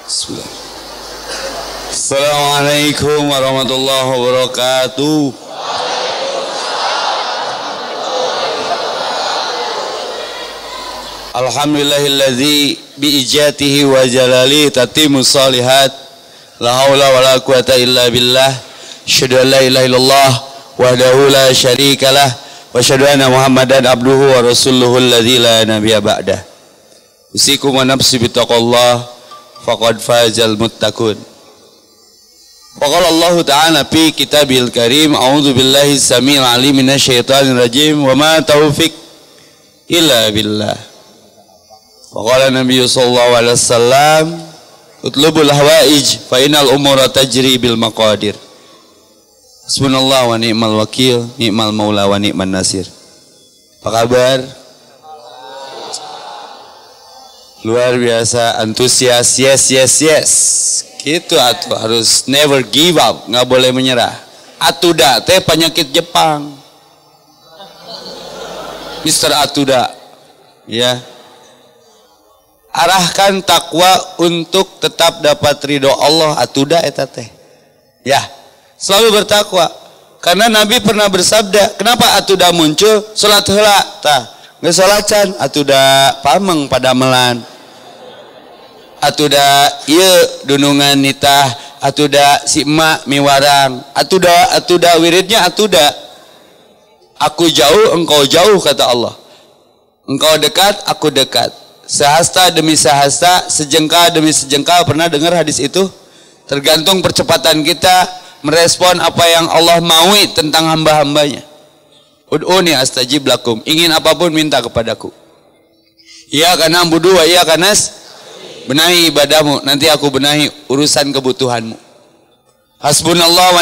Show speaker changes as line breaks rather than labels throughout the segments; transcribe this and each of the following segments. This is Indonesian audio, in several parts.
Bismillah. Assalamualaikum warahmatullahi wabarakatuh. Alhamdulillahilladzi biijatihi wa jalali tatimmu shalihat. La haula wala quwata illa billah. Asyhadu an la ilaha illallah wahdahu la syarikalah wa asyhadu anna Muhammadan abduhu wa rasuluhu alladzi la nabiyya ba'dah. Usikum wa nafsi bittaqallah faqad fazal muttaqun. Faqala Allah Ta'ala fi kitabil karim, a'udzu billahi samil alim minasyaitonir rajim, wa ma taufiq illa billah. Faqala Nabi sallallahu alaihi wasallam, utlubul hawaij fa innal umura tajri bil maqadir. Hasbunallahu wa ni'mal wakil, ni'mal maula wa ni'man nasir. Apa kabar? Luar biasa, antusias, yes. Gitu atuh, harus never give up, nggak boleh menyerah. Atuda teh penyakit Jepang. Mr. Atuda, ya. Arahkan takwa untuk tetap dapat ridho Allah, atuda eta teh. Ya, selalu bertakwa. Karena Nabi pernah bersabda, kenapa atuda muncul? Salat heula, tah. Geus salatan atuda pameng pada melan. Atuda ieu dunungan nitah, atuda si emak miwarang, atuda wiridnya atuda. Aku jauh, engkau jauh, kata Allah. Engkau dekat, aku dekat. Sehasta demi sehasta, sejengkal demi sejengkal. Pernah dengar hadis itu? Tergantung percepatan kita merespon apa yang Allah maui tentang hamba-hambanya. Ud'uni astajib lakum. Ingin apapun minta kepadaku. Iya karena budu wa iya kanas. Benahi ibadahmu, nanti aku benahi urusan kebutuhanmu. Hasbunallah wa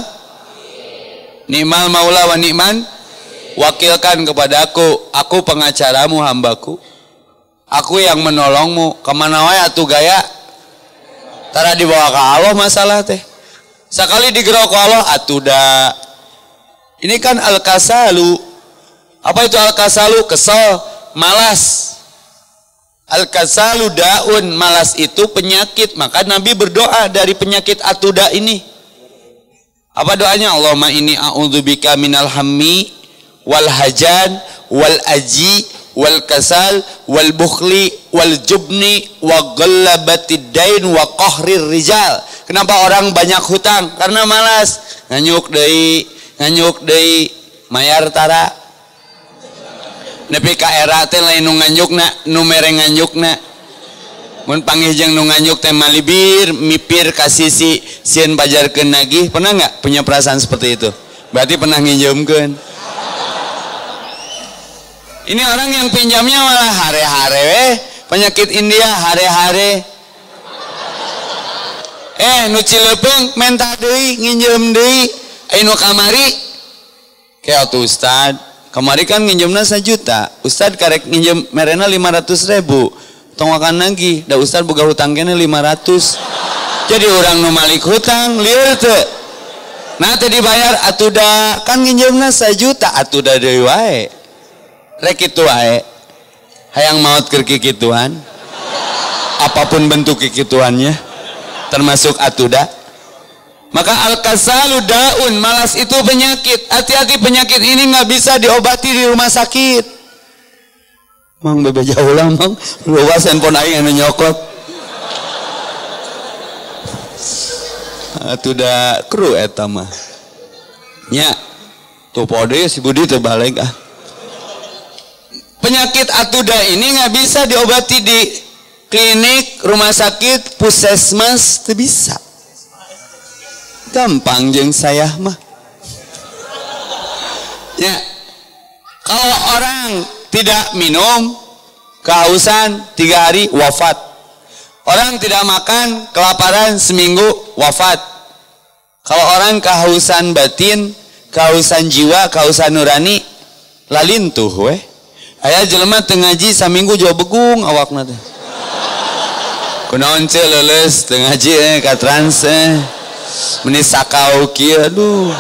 ni'mal maula wa ni'man. Wakilkan kepada aku pengacaramu, hambaku. Aku yang menolongmu. Kemana wae atuh gaya. Tara dibawa ke Allah masalah teh. Sekali digerok ke Allah atuda. Ini kan al-kasalu. Apa itu al-kasalu? Kesel, malas. Al-kasalu daun, malas itu penyakit. Maka Nabi berdoa dari penyakit atuda ini. Apa doanya? Allahumma inni a'udzubika minal hammi wal hajan wal aji wal kasal wal bukhli wal jubni wa ghallabatid dain wa qahrir rijal. Kenapa orang banyak hutang? Karena malas. Nganyuk deui mayar tara. Nepi ka era teh lain nu nganyukna, nu mere nganyukna. Mun panggih nu nganyuk teh malibir, mipir ka sisi sieun pajarkeun nagih. Pernah enggak punya perasaan seperti itu? Berarti pernah nginjemkeun. Ini orang yang pinjamnya malah hare-hare penyakit India hare-hare. Nu Cilepeung menta deui, nginjem deui. Anu kamari kayak atuh Ustad. Kemarin kan nginjemna 1 juta, Ustad karek nginjem merena 500.000, tong akan lagi, da Ustad boga hutang kene 500, jadi orang nu malik hutang lieur teu, nah teu dibayar atuda kan nginjemna 1 juta, atuda deui wae, rek kitu wae, hayang maot keur kikituan, apapun bentuk kikituannya, termasuk atuda. Maka al-kasalu daun, malas itu penyakit. Hati-hati, penyakit ini nggak bisa diobati di rumah sakit. Mang bebe jauh lah mang, luas handphone aing anu nyokot. Atuh da kru eta mah. Nya, tuh pode si Budi teu balik ah. Penyakit atuda ini nggak bisa diobati di klinik, rumah sakit, puskesmas, teu bisa. Gampang jeung saya mah. Ya. Kalau orang tidak minum, kehausan 3 hari wafat. Orang tidak makan, kelaparan seminggu wafat. Kalau orang kehausan batin, kehausan jiwa, kehausan nurani, lalintuh weh. Aya jelema teu ngaji saminggu jauh begung awakna teh. Kunaon ce leuleus teu ngaji ka trans meni sakau kieu aduh.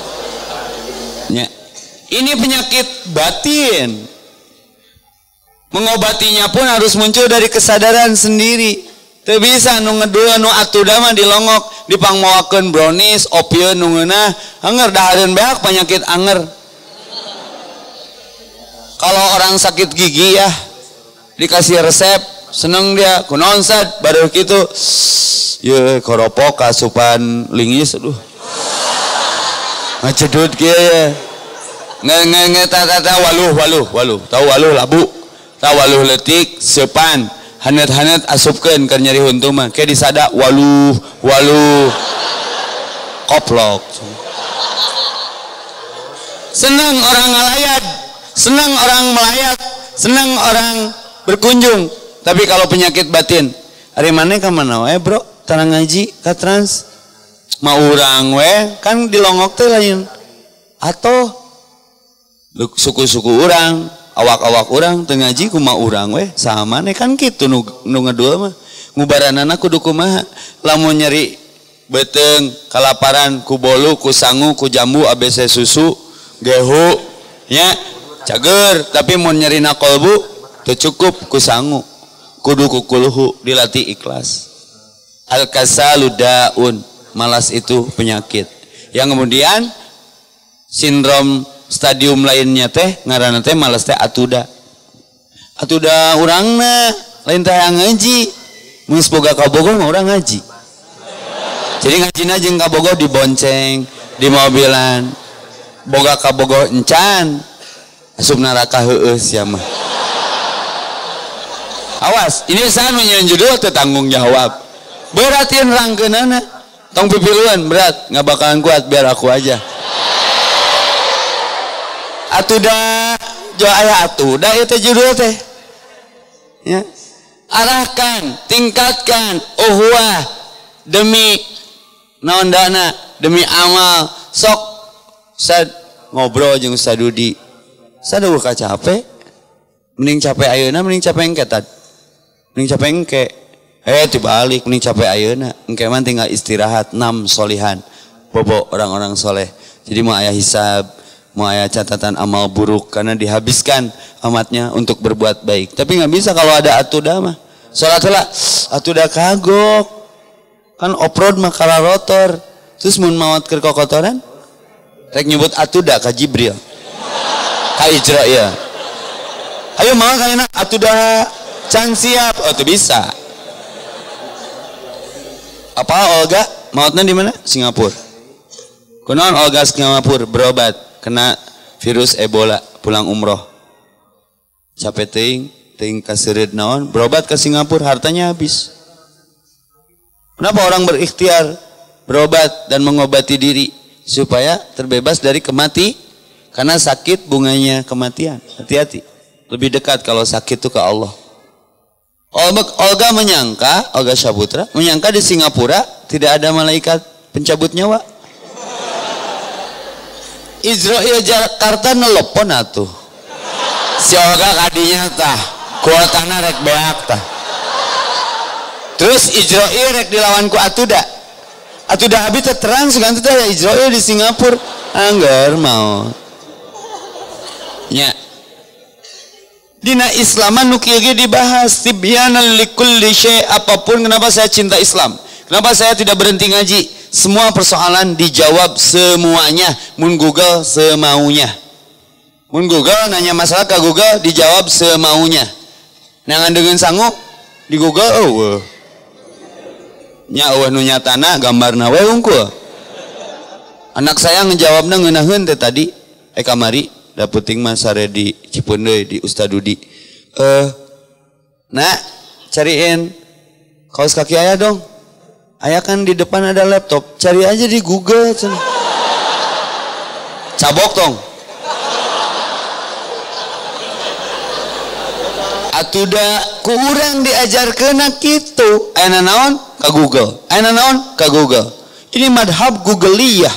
Ya. Ini penyakit batin. Mengobatinya pun harus muncul dari kesadaran sendiri. Teu bisa nu ngedul nu atuda mah dilongok dipangmoakeun brownies, opieun nu ngeunah, anger dahareun beak penyakit anger. Kalau orang sakit gigi ya dikasih resep, seneng dia kunaon sad baru kitu. Ye koropok kasupan lingis aduh. Ngacedut kieu ya. Nge tata waluh. Tahu waluh labu. Tahu waluh leutik seupan. Hanet-hanet asupkeun keur nyeri huntu mah. Ke disada waluh. Koplok. Senang orang ngalayat, senang orang melayat, senang orang berkunjung. Tapi kalau penyakit batin, hari mana ka mana we bro? Tarang ngaji ka trans. Mau urang we kan dilongok teh lain. Atau suku-suku urang, awak-awak urang teu ngaji kumaha urang we sama nih kan kitu nu ngedul mah. Ngubaranana kudu kumaha? Lamun nyeri beteung, kalaparan, ku bolu, ku sangu, ku jambu, ABC susu, gehu, nya cager. Tapi mun nyerina kolbu teu cukup ku sangu. Kudu ku kuluhu dilatih ikhlas. Al-kasalu daun, malas itu penyakit. Yang kemudian sindrom stadium lainnya teh ngaranna teh malas teh atuda. Atuda urangna lain teh ngaji. Mun boga kabogoh mah urang ngaji. Jadi ngajina jeung kabogoh dibonceng, di mobilan. Boga kabogoh encan asup neraka heueuh sia mah. Awas, ini saha nu nyeun judul teu tanggung jawab. Beratin rangkeunana. Tong pipiluan berat, nggak bakalan kuat biar aku aja. Atuda jo aya atuda itu judul teh. Ya. Arahkan, tingkatkan uhwah demi naon dana, demi amal. Sok sad ngobrol jeung Sadudi. Saduh ka capek. Mending capek ayeuna mending capek engke tad. Mending capek engke. Dibalik mending capek ayeuna. Engke mah tinggal istirahat 6 solihan. Bobo orang-orang soleh. Jadi mau aya hisab, mau aya catatan amal buruk karena dihabiskan amatnya untuk berbuat baik. Tapi nggak bisa kalau ada atuda mah. Salat heula atuda kagok. Kan off-road mah kala rotor. Terus mun maot keur kokotoran rek nyebut atuda ka Jibril. Ka Ijra ya. Ayo mah kana atuda can siap. Oh tuh bisa. Apa Olga? Mautna di mana? Singapura. Kunaon Olga Singapura berobat kena virus Ebola pulang umroh. Capek teuing kaseureud naon berobat ke Singapura hartanya habis. Kenapa orang berikhtiar berobat dan mengobati diri supaya terbebas dari karena sakit bunganya kematian. Hati-hati. Lebih dekat kalau sakit itu ke Allah. Olga Saputra menyangka di Singapura tidak ada malaikat pencabut nyawa. Israel Jakarta nelpon atuh. Si Olga kadinya tah kuotana rek beak tah. Terus Israel rek dilawan ku Atuda. Atuda habis terang segan teh ya Israel di Singapura anggar mau. Nya dina Islaman nu kieu dibahas tibyanan likulli syai' apapun. Kenapa saya cinta Islam? Kenapa saya tidak berhenti ngaji? Semua persoalan dijawab semuanya. Mun Google semaunya. Mun Google nanya masalah ke Google dijawab semaunya. Nangan dengan sangu di Google nya nu nyatana gambarna we unggul. Anak saya ngejawabna ngeunaheun teh tadi kamari da peuting mah sare di Cipeundeuy di Ustadudi. Nak, cariin kaos kaki ayah dong. Ayah kan di depan ada laptop, cari aja di Google. Cabok tong. Atuda ku urang diajarkeun kitu. Ayeuna naon? Ka Google. Ayeuna naon? Ka Google. Ini madhab Googliyah.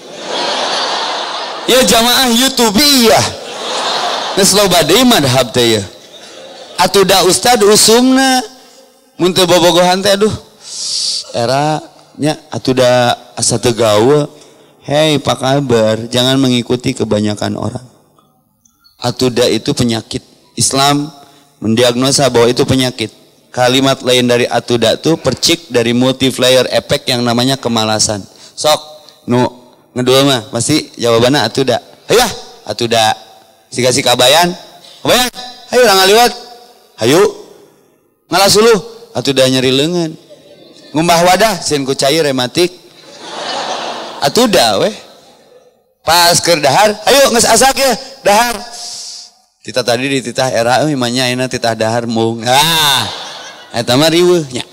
Ya jamaah YouTubeiyah. Geus loba deui madhab teh ya. Atuda ustad usumna mun teu bobogohan teh aduh. Era nya atuda asa teu gawe. Hei, apa kabar? Jangan mengikuti kebanyakan orang. Atuda itu penyakit. Islam mendiagnosa bahwa itu penyakit. Kalimat lain dari atuda itu percik dari multiplier effect yang namanya kemalasan. Sok nu ngedul mah pasti jawabannya atuda. Hayu atuda. Si kabayan. Kabayan. Hayu urang ngaliwat. Hayu. Ngalas uluh. Atuda nyeri leungeun. Ngumbah wadah sieun ku cai rematik. Atuda weh. Pas keur dahar, ayo geus asak ya, dahar. Tita tadi di titah era euy manya ayeuna titah dahar mung. Eta mah riweuh nya.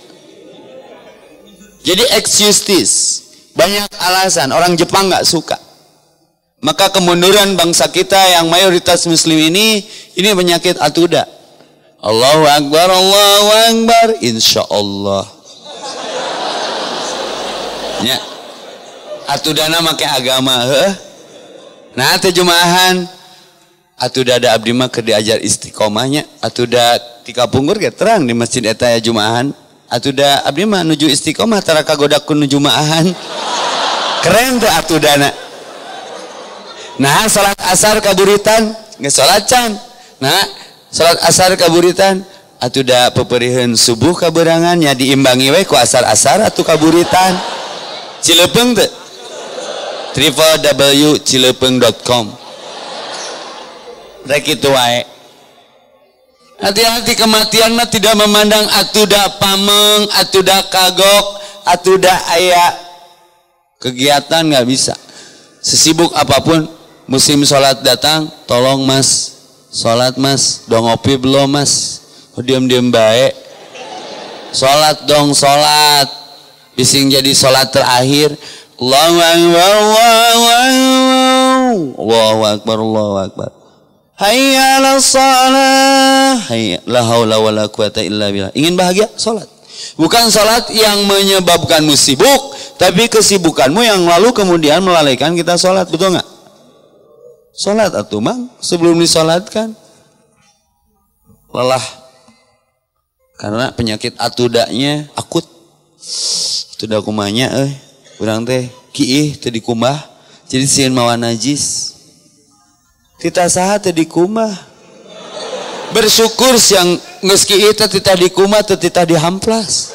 Jadi excuses, banyak alasan. Orang Jepang enggak suka. Maka kemunduran bangsa kita yang mayoritas muslim ini penyakit atuda. Allahu Akbar, insyaallah. Ya. Atudana make agama, heuh. Nah, teh jumaahan atuda ada abdi mah keur diajar istiqomahnya, atuda ti kapungkur ge terang di masjid eta ya jumaahan. Atuda abdi mah nuju istiqomah tara kagodak ku nuju jumaahan. Keren teh atudana. Nah, salat asar kaburitan, geus salat can. Nah, salat asar kaburitan, atuda peperieun subuh kaberangan nya diimbangi we ku asar-asar atuh kaburitan. Cilepeung teh www.cilepeung.com. Rek itu wae. Hati-hati, kematian mah tidak memandang atuda pameng, atuda kagok, atuda aya kegiatan nggak bisa. Sesibuk apapun musim sholat datang, tolong mas, sholat mas, dong ngopi belum mas, diam-diam baik. Sholat dong sholat, bising jadi sholat terakhir. Allahu Akbar, Allahu Akbar, Allahu Akbar. Hayya 'alas shalah. Hayya la haula wala quwata illa billah. Ingin bahagia, salat. Bukan salat yang menyebabkanmu sibuk, tapi kesibukanmu yang lalu kemudian melalaikan kita salat, betul enggak? Salat atuh mang sebelum disalatkan. Lelah. Karena penyakit atudanya akut. Atuda kumanya urang teh kiih teu dikumbah jadi sieun mawa najis. Tita saha teu dikumbah. Bersyukur siang geus kiih teh tita dikumbah teu tita dihamplas.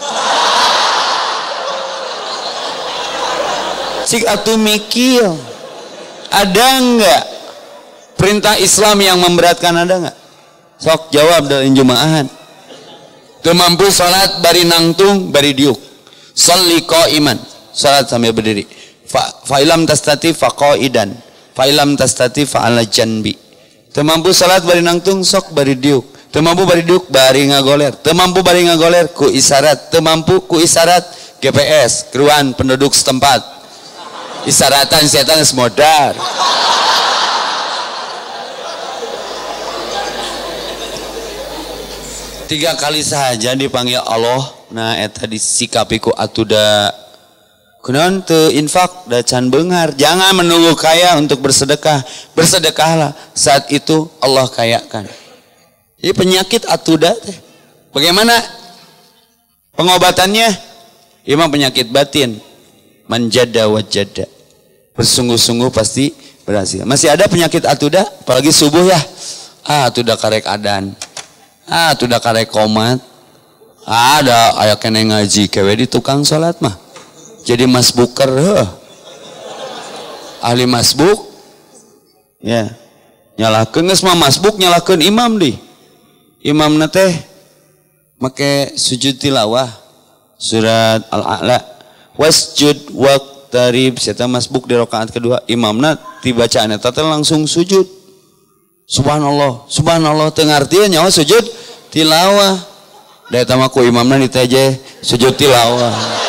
Cik atuh mikir. Ada enggak perintah Islam yang memberatkan, ada enggak? Sok jawab dari jumaahan. Teu mampu salat bari nangtung bari diuk. Sholli qaiman. Salat sambil berdiri. Fa'ilam tastati faqaidan. Fa'ilam tastati fa'ala janbi. Teu mampu salat bari nangtung sok bari diuk. Teu mampu bari diuk bari ngagoler. Teu mampu bari ngagoler ku isyarat. Teu mampu ku isyarat GPS, keruan penduduk setempat. Isyaratan setan geus modar. Tiga kali saja dipanggil Allah. Nah eta disikapi ku atuda. Kunaon teu infak da can beunghar. Jangan menunggu kaya untuk bersedekah. Bersedekahlah, saat itu Allah kayakan. Jadi penyakit atuda teh. Bagaimana pengobatannya? Imam penyakit batin. Manjada wajada. Bersungguh-sungguh pasti berhasil. Masih ada penyakit atuda, apalagi subuh ya. Atuda karek adan. Atuda karek komat. Ada aya kene ngaji kewe di tukang salat mah. Jadi masbuker, ahli masbuk, ya, nyalakeun geus mah masbuk nyalakeun imam di, imam teh make sujud tilawah, surat Al-A'la, wasjud waqtarib, eta masbuk di rakaat kedua, imamna dibacaan eta teh langsung sujud, subhanallah, subhanallah, teu ngartieun nyawa sujud tilawah, da eta mah ku imamna diteje sujud tilawah.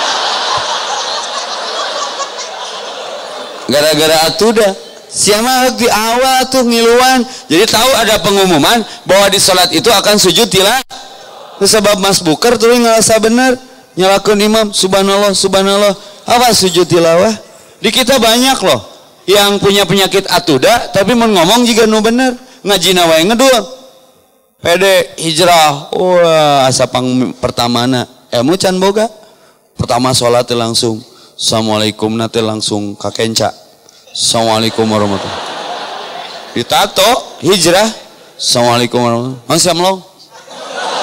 Gara-gara atuda siapa di awal tuh ngiluan, jadi tahu ada pengumuman bahwa di sholat itu akan sujud tilawah. Sebab masbuker tuh ngerasa benar nyalakeun imam subhanallah subhanallah apa sujud tilawah. Di kita banyak loh yang punya penyakit atuda tapi mau ngomong juga nu bener ngajina wae ngedul pede hijrah. Wah asa pertamana ilmu can boga pertama sholat langsung assalamualaikum nate langsung kakenca assalamualaikum warahmatullahi ditato hijrah assalamualaikum warahmatullahi wabarakatuh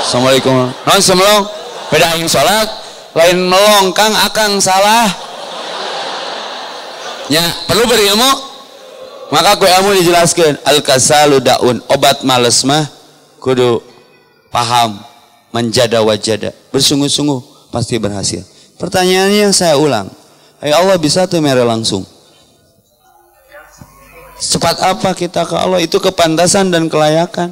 Assalamualaikum. Non semelong. Beda aing salat, lain melong Kang akang salah. Ya, perlu berilmu. Maka ku ilmu dijelaskan al-kasalu daun, obat males mah kudu paham, menjada wajada, bersungguh-sungguh pasti berhasil. Pertanyaannya saya ulang. Allah bisa tuh mere langsung. Cepat apa kita ke Allah? Itu kepantasan dan kelayakan.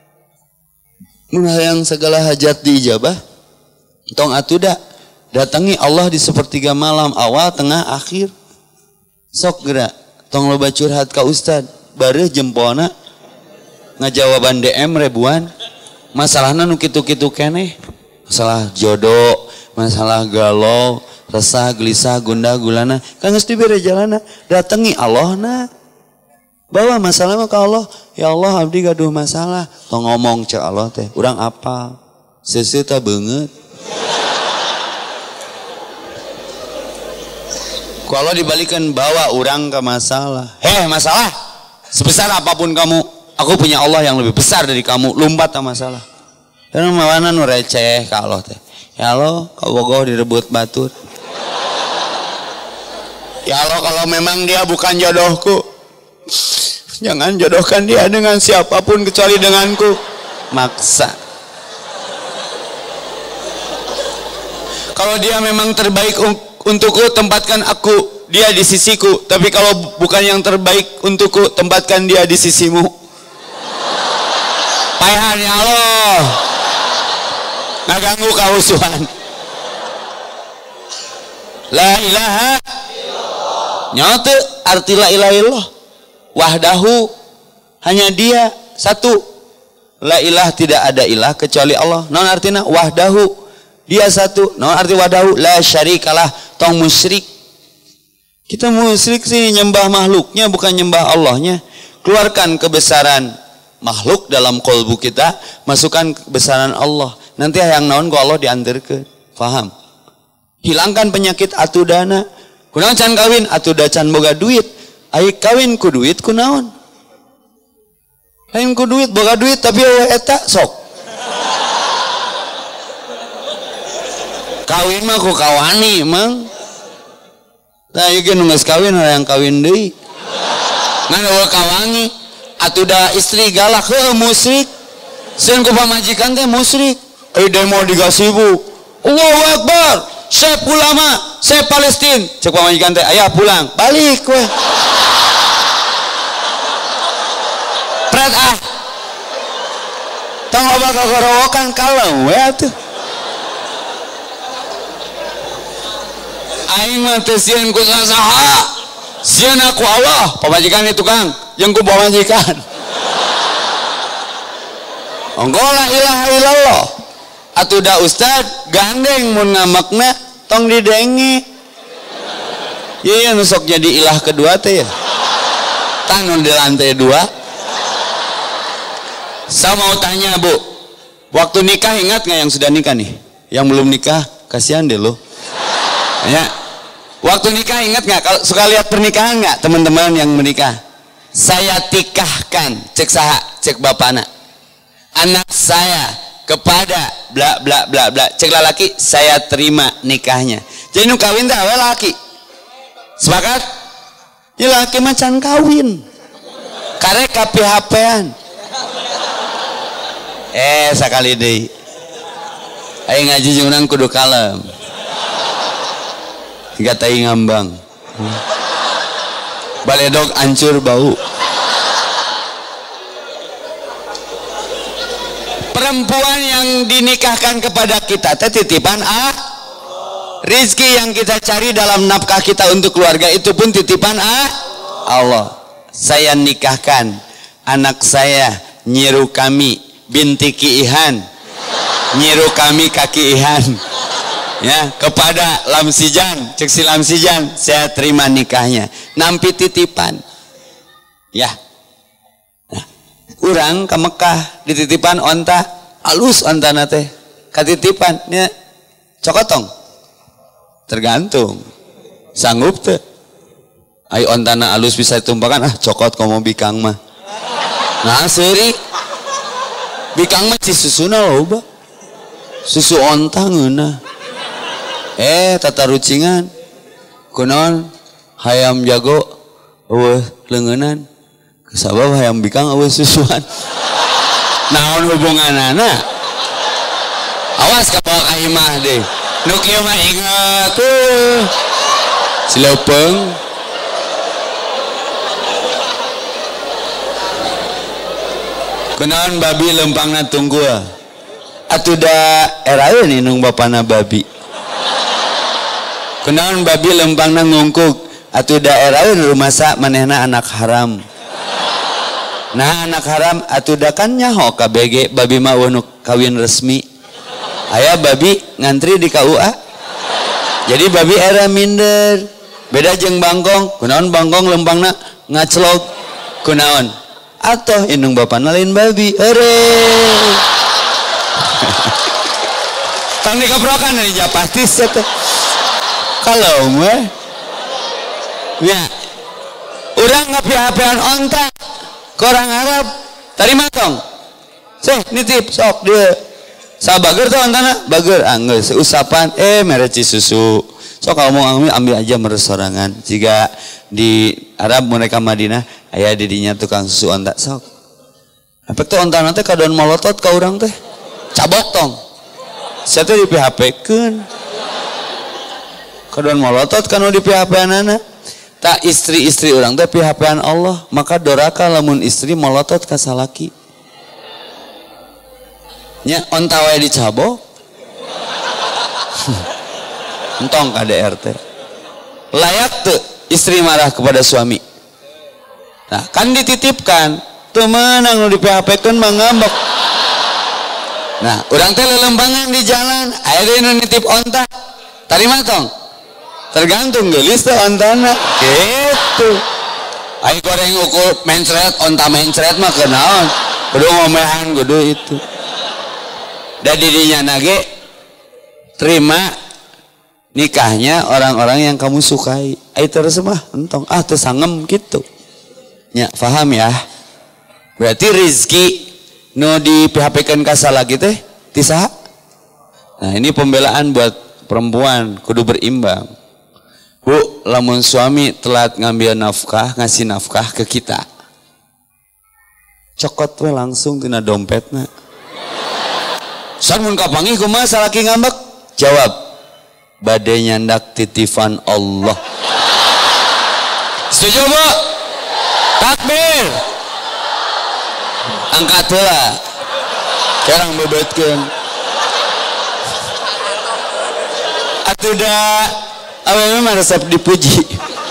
Yang segala hajat diijabah. Tong atuda datangi Allah di sepertiga malam, awal, tengah, akhir. Sok gerak. Tong loba curhat ka ustad, bareuh jempolna ngajawaban DM ribuan. Masalahna nu kitu-kitu keneh. Masalah jodoh, masalah galau, resah, gelisah, gundah, gulana. Kan geus dibere jalanna, datangi Allahna. Bawa masalah mah ka Allah. Ya Allah abdi gaduh masalah. Tong ngomong cek Allah teh, urang apal. Seuseuh teh beungeut. Kalau dibalikan bawa orang ke masalah. Masalah. Sebesar apapun kamu, aku punya Allah yang lebih besar dari kamu. Lompat ke masalah. Karena mana nu receh ka Allah teh. Ya Allah, kau bogoh direbut batur. Ya Allah, kalau memang dia bukan jodohku, jangan jodohkan dia dengan siapapun kecuali denganku. Maksa. Kalau dia memang terbaik untukku, tempatkan dia di sisiku. Tapi kalau bukan yang terbaik untukku, tempatkan dia di sisimu. Payahan ya Allah, ngaganggu kahusuhan. La ilaha nyata arti la ilaha illallah wahdahu, hanya dia satu. La ilah, tidak ada ilah kecuali Allah. Non artinya wahdahu, dia satu. Non arti wahdahu la syarikalah, tong musyrik. Kita musyrik sih nyembah makhluknya, bukan nyembah Allahnya. Keluarkan kebesaran makhluk dalam kolbu kita, masukkan kebesaran Allah. Nanti yang naon ku Allah diantarkeun. Faham? Hilangkan penyakit atudana. Kunaon can kawin? Atuda can boga duit. Ai kawin ku duit kunaon? Lain ku duit, boga duit tapi eta sok. Kawin mah ku kawani emang. Nah ieu ge nu geus kawin yang kawin deui. Ngan eueuh kawangi, atuda istri galak heuh musyrik. Sieun ku pamajikan teh musyrik. Demo di Gasibu. Allahu Akbar. Syekh ulama, Syekh Palestina. Cek pamajikan teh, "Aya pulang." Balik we. Pret ah. Tong loba kagorowokan kalem we atuh. Aing mah teh sieun ku saha? Sieun aku Allah, pamajikan itu Kang, jeung ku pamajikan. Onggo la ilaha illallah. Atuda ustad gandeng mun ngamakna tong didengi. Ieu nu sok jadi ilah kedua teh ya. Tanu di lantai 2. Saya mau tanya Bu, waktu nikah ingat nggak yang sudah nikah nih? Yang belum nikah kasihan deh lo. Ya. Waktu nikah ingat nggak? Kalau suka lihat pernikahan nggak teman-teman yang menikah? Saya tikahkan, cek saha, cek bapana. Anak saya kepada bla bla bla bla, cek laki, saya terima nikahnya. Jadi nu kawin teh awe laki. Sepakat? Ya laki macan kawin. Karek KPHP-an. Sakali deui. Aing ngaji jeung urang kudu kalem. Tiga tai ngambang. Baledog hancur bau. Perempuan yang dinikahkan kepada kita titipan rizki yang kita cari dalam nafkah kita untuk keluarga itu pun titipan Allah. Saya nikahkan anak saya Nyiru kami binti Ki Ihan, Nyiru kami Kaki Ihan, ya, kepada Lamsijan, cek si Lamsijan, saya terima nikahnya. Nampi titipan, ya. Nah, urang ke Mekah dititipan onta, alus onta nate, katitipan, ya, cokotong, tergantung, sanggup tuh. Ayo ontana alus bisa ditumpahkan, cokot komo bikang mah. Nah seri bikang mah cisusuna loba. susu onta ngeunah tata rucingan kunaon hayam jago eueuh leungeunnan sabab hayam bikang eueuh susuan naon hubunganana awas ka bawa ka imah deh nu kieu mah inget sileupeng kunaon babi lempangna tunggul atuh da eraeun inung bapana babi kunaon babi lempangna ngungkuk atuh da eraeun rumasa manehna anak haram nah anak haram atuh da kan nyaho ka BG babi mah nu kawin resmi aya babi ngantri di KUA jadi babi era minder beda jeung bangkong kunaon bangkong lempangna ngaclok kunaon atoh indung bapana lain babi ere tang dikeprokan dari japati teh kalau mah ya urang ngapi-apian onta ke orang Arab tarima tong nitip sok dia sabager tuh ontana bager geus usapan mereci susu sok ngomong ambil aja meresorangan jika di Arab mereka Madinah aya di dinya tukang susu onta sok efek tuh ontana teh kadoan molotot ka urang teh cabot tong saya teh di PHP-keun kadoan molotot kan di PHP-anana tak istri-istri orang teh PHP-an Allah maka doraka lamun istri molotot ka salaki nya onta wae dicabok entong KDR teh layak tuh istri marah kepada suami nah kan dititipkan tuh menang nu di PHP-keun mah ngambek nah urang teh lelempangan di jalan aya deui nu nitip onta tarima tong tergantung gelis teh ontana gitu ai goreng ukur mencret onta mencret mah kenaon kudu ngomehan kudu itu da didinya nage terima nikahnya orang-orang yang kamu sukai ai terus mah entong teu sangem gitu nya paham ya berarti rezeki nu di PHP-keun ka salaki teh ti saha nah ini pembelaan buat perempuan kudu berimbang Bu, lamun suami telat ngambil nafkah, ngasih nafkah ke kita. Cokot we langsung tina dompetna. San mun kapanggih kumaha salaki ngambek? Jawab, bade nyandak titipan Allah. Setuju, Bu? Takbir. Angkat heula. Jarang bebetkeun. Atuh da awewe mah resep dipuji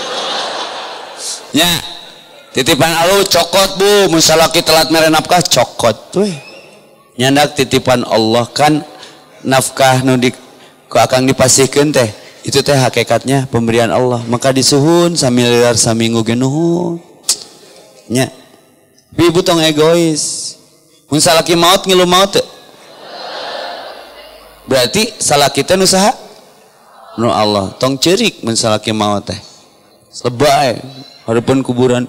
nya titipan Allah cokot Bu mun salaki telat mere nafkah cokot we nyandak titipan Allah kan nafkah nu ku akang dipasihkeun teh itu teh hakikatnya pemberian Allah maka disuhun samiliar saminggu ge nuhun nya ibu tong egois mun salaki maot ngilu maot teh berarti salaki teh nu saha nu Allah tong cerik mun salaki maot teh lebay hareupeun kuburan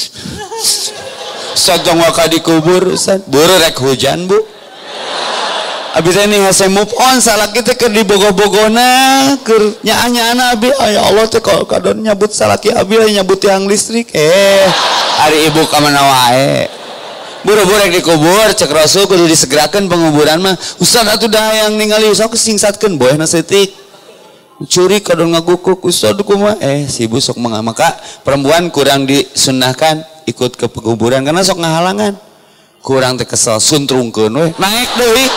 sajong waka dikubur buru rek hujan Bu abi teh nih hase move on salaki teh keur dibogo-bogona keur nyaana abi ya Allah teh kadon nyabut salaki abi nyabut tiang listrik ari ibu ka mana wae buru-buru rek dikubur cek Rasul kudu disegerakeun penguburan mah ustaz atuh da yang ningali usah singsatkeun boehna seutik curi kadang ngagukuk ustad kumaha si ibu sok maka perempuan kurang disunnahkan ikut ke penguburan karena sok ngahalangan kurang teh kesel suntrungkeun we naik deui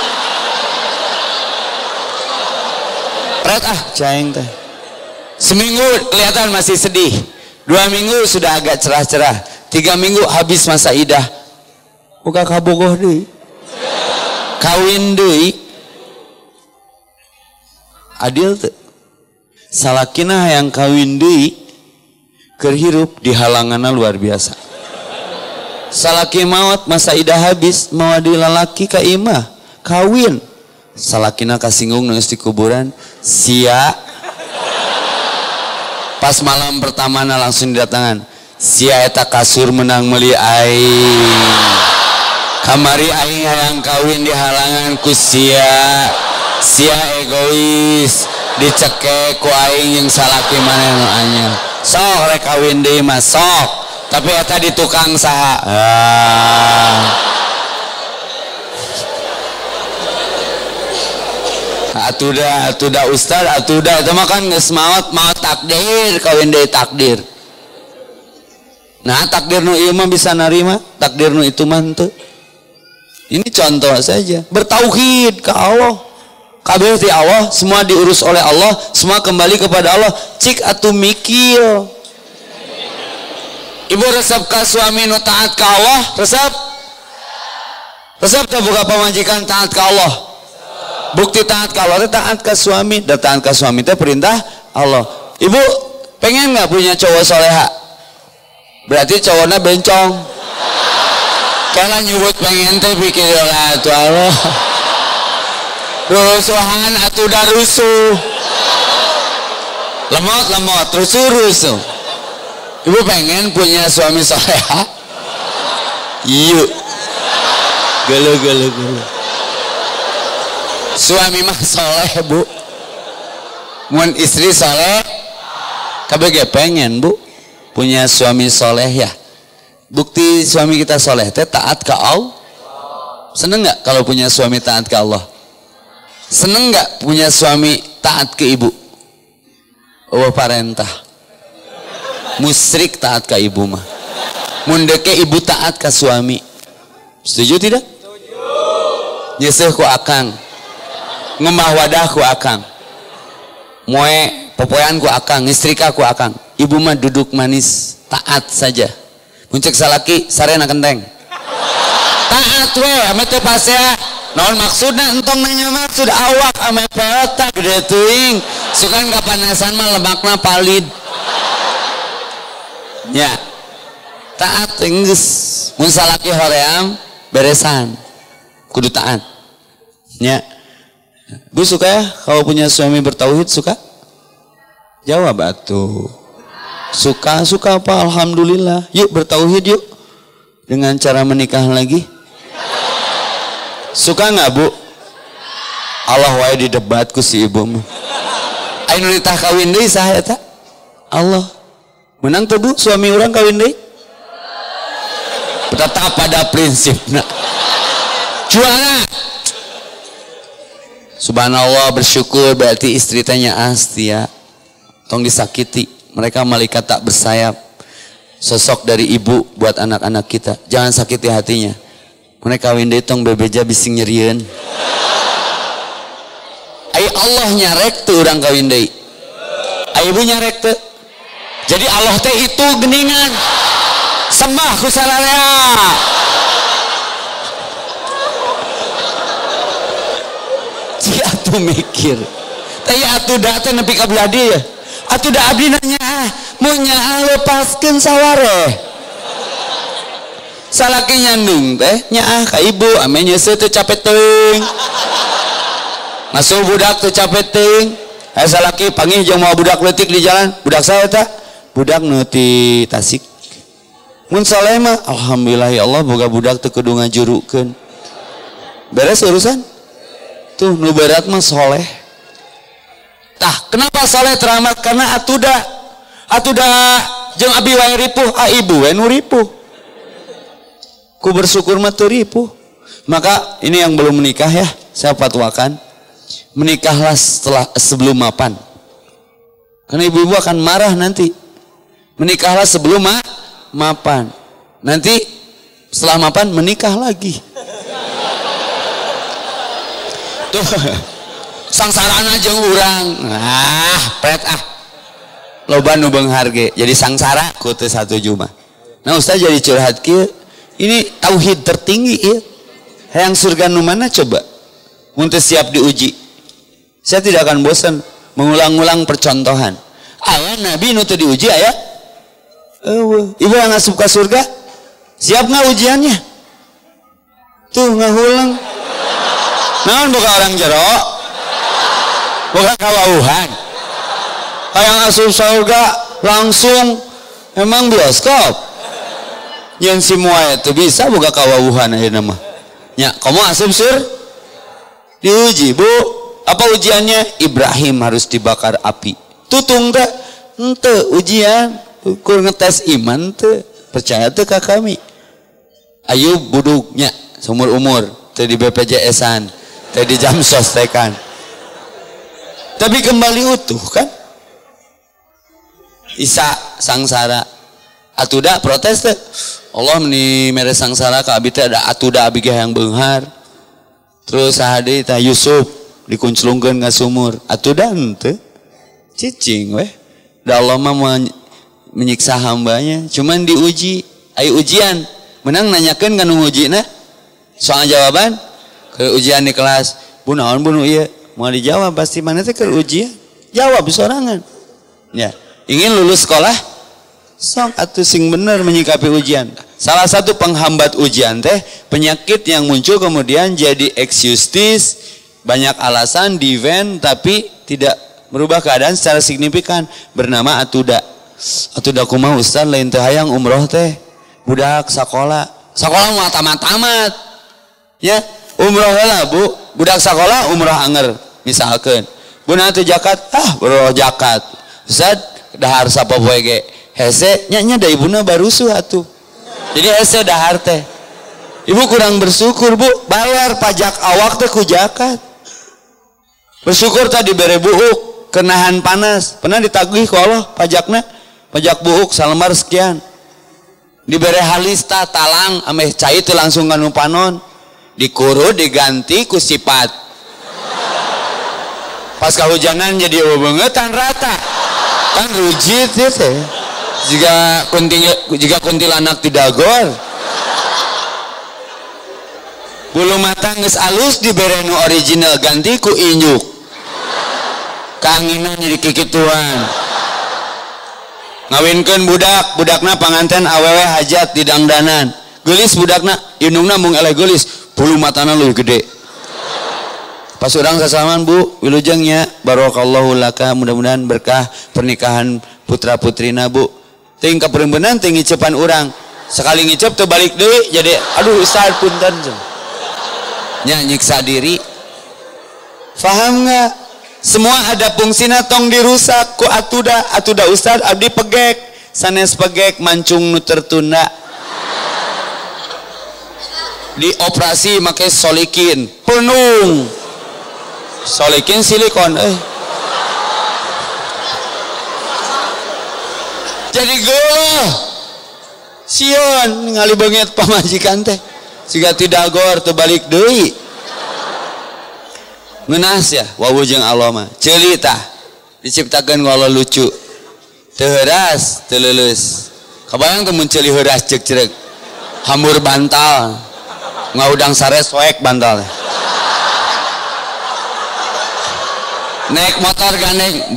pret caing teh seminggu kelihatan masih sedih 2 minggu sudah agak cerah-cerah 3 minggu habis masa idah buka kabogoh deui kawin deui adil teh salakina yang kawin deui keur hirup di halanganna luar biasa salaki maot masa idah habis mau di lalaki ka imah kawin salakina kasinggung nangis di kuburan sia pas malam pertamana langsung didatangan sia eta kasur menang meuli aing kamari aing hayang kawin di halangan ku sia sia egois dicekek ku aing yang salaki maneh nu anyar sok rek kawin deui mah sok tapi eta di tukang saha atuda ustad atuda itu mah kan geus maot takdir kawin deui takdir. Nah takdir nu ieu mah bisa narima, takdir nu itu mah henteu. Ini contoh saja. Bertauhid ke Allah. Kabeh ti Allah, semua diurus oleh Allah, semua kembali kepada Allah. Cik atuh mikir. Ibu resep ka suami nu taat ka Allah, resep? Resep teh boga pamajikan taat ka Allah. Bukti taat ka Allah teh taat ka suami, dan taat ka suami teh perintah Allah. Ibu pengen nggak punya cowok soleha? Berarti cowoknya bencong. Karena nyebut pengen teh pikir lah tuh Allah. Rusuhan atuh dah rusuh. Lemot rusuh. Ibu pengen punya suami soleha? Iya. Gelo. Suami mah soleh bu. Mun istri soleh, kabeh ge pengen bu. Punya suami soleh ya. Bukti suami kita soleh teh taat ke Allah. Seneng nggak kalau punya suami taat ke Allah? Seneng nggak punya suami taat ke ibu? Oh parentah. Musyrik taat ke ibu mah. Mundeke ibu taat ke suami. Setuju tidak? Setuju. Nyeseh ku akang. Ngemah wadah ku akang. Moe popoyan ku akang, istrika ku akang. Ibu mah duduk manis, taat saja. Muncik salaki, sarena kenteng. Taat we, ame teu pasea. Naon maksudna entong nanya maksud awak ame pelota gede teuing. Sukan kapanasan mah lemakna palid. Ya. Taat geus. Mun salaki hoream beresan. Kudu taat. Ya. Bu suka ya kalau punya suami bertauhid suka? Jawab atuh. Suka apa? Alhamdulillah. Yuk bertauhid yuk. Dengan cara menikah lagi. Suka nggak bu? Allah wae di debatku si ibu mah. Ayo nitah kawin deui saha eta? Allah. Menang tuh bu suami orang kawin deui? Tetap pada prinsipna. Juara. Subhanallah bersyukur berarti istri tanya astia. Tong disakiti. Mereka malaikat tak bersayap. Sosok dari ibu buat anak-anak kita. Jangan sakiti hatinya. Mereka kawin deui tong bebeja bising nyerieun. Ai Allah nyarek tuh orang kawin deui. Ai ibu nyarek tuh. Jadi Allah teh itu geningan. Sembah ku sararea. Si atuh mikir. Teh atuh da teh nepi ka beladi ya. Atuh da abdi nanya mau nyaa lepaskeun sawareh. Salaki nyandung teh nyaa ka ibu ame nyeuseuh teu capek teuing. Ngasuh budak teu capek teuing. Salaki panggih jeung mau budak leutik di jalan. Budak saha eta? Budak nu ti Tasik. Mun saleh mah alhamdulillah ya Allah boga budak teu kudu ngajurukeun. Beres urusan? Tuh nu berat mah soleh. Tah, kenapa soleh teramat? Karena atuda jeung abi wae ripuh, ibu we nu ripuh. Ku bersyukur mah teu ripuh. Maka ini yang belum menikah ya, saya fatwakan menikahlah sebelum mapan. Karena ibu-ibu akan marah nanti. Menikahlah sebelum mapan. Nanti setelah mapan menikah lagi. Tuh. Sangsarana jeung urang. Pret loba nu beunghar ge jadi sangsara ku teu satuju mah. Nah ustaz jadi curhat kieu. Ini tauhid tertinggi ieu. Hayang surga nu mana coba? Mun teu siap diuji. Saya tidak akan bosan mengulang-ulang percontohan. Aya nabi nu teu diuji aya? Ibu yang asup ka surga? Siap enggak ujiannya? Tuh ngahulang. Naon boga orang jero? Bukan kawauhan. Kayak asup surga langsung emang bioskop. Yang semua itu bisa buka kawauhan aja nama. Ya, kamu asup sur diuji bu. Apa ujiannya? Ibrahim harus dibakar api. Tutung tak? Ente ujian. Ukur ngetes iman teu. Percaya teu ka kami. Ayub buduknya seumur umur. Teu di BPJS-an. Teu di Jamsos tekan. Tapi kembali utuh kan? Isa sangsara. Atuda protes teh. Allah meni mere sangsara ka abi teh ada atuda abi ge yang beunghar. Terus sahade teh Yusuf dikunclungkeun ka sumur. Atuda henteu. Cicing weh. Da Allah mah menyiksa hambanya. Cuman diuji. Aya ujian. Menang nanyakeun ka nu ngujina. Soal jawaban. Ke ujian di kelas. Bu naon bu nu ieu? Mau dijawab pasti mana teh keur ujian. Jawab sorangan. Ya. Ingin lulus sekolah? Sok atuh sing bener menyikapi ujian. Salah satu penghambat ujian teh penyakit yang muncul kemudian jadi excuses, banyak alasan, divent tapi tidak merubah keadaan secara signifikan, bernama atuda. Atuda kumaha ustaz lain teh hayang umroh teh. Budak sakola. Sakola mah tamat-tamat. Ya, umroh heula Bu. Budak sakola umroh anger misalkeun. Bu teu zakat, bro zakat. Ustaz dahar sapopoe ge hese nya da ibuna barusuh atuh. Jadi hese dahar teh. Ibu kurang bersyukur Bu, bayar pajak awak teh ku zakat. Bersyukur tadi dibere buuk, kenahan panas. Pernah ditagih ku Allah pajakna? Pajak buuk salembar sekian. Dibere halista talang ameh cai teh langsung kanu panon. Dikurut diganti ku sifat. Pas kahujanan jadi bebengetan rata. Kan rujit ya teh. Jika kuntilanak tidak gor. Bulu mata geus alus dibere nu original ganti ku injuk. Kanginan jadi kikituan. Ngawinkeun budakna panganten awewe hajat di dangdanan. Geulis budakna, indungna mung eleh geulis, bulu matana leuwih gede. Pas urang sasalaman Bu, wilujeng nya barakallahu laka, mudah-mudahan berkah pernikahan putra-putrina Bu. Ting kapereumbeunana ting ngicepan urang. Sekali ngicep teu balik deui jadi aduh ustaz punten. Nya nyiksa diri. Paham enggak? Semua ada fungsina tong dirusak ku atuda ustaz abdi pegek. Sanes pegek mancung nu tertunda. Dioperasi make solikin penuh. Solikin silikon jadi geulah sion ngali beungeut pamajikan teh siga tidak gor teu balik deui ngeunas ya wawujeng Allah mah ceuli tah diciptakeun ku Allah lucu teu heuras teu leuleus kabayang teu mun ceuli heuras ceuk ceurek hambur bantal ngaudang sare soek bantal naik motor gandeng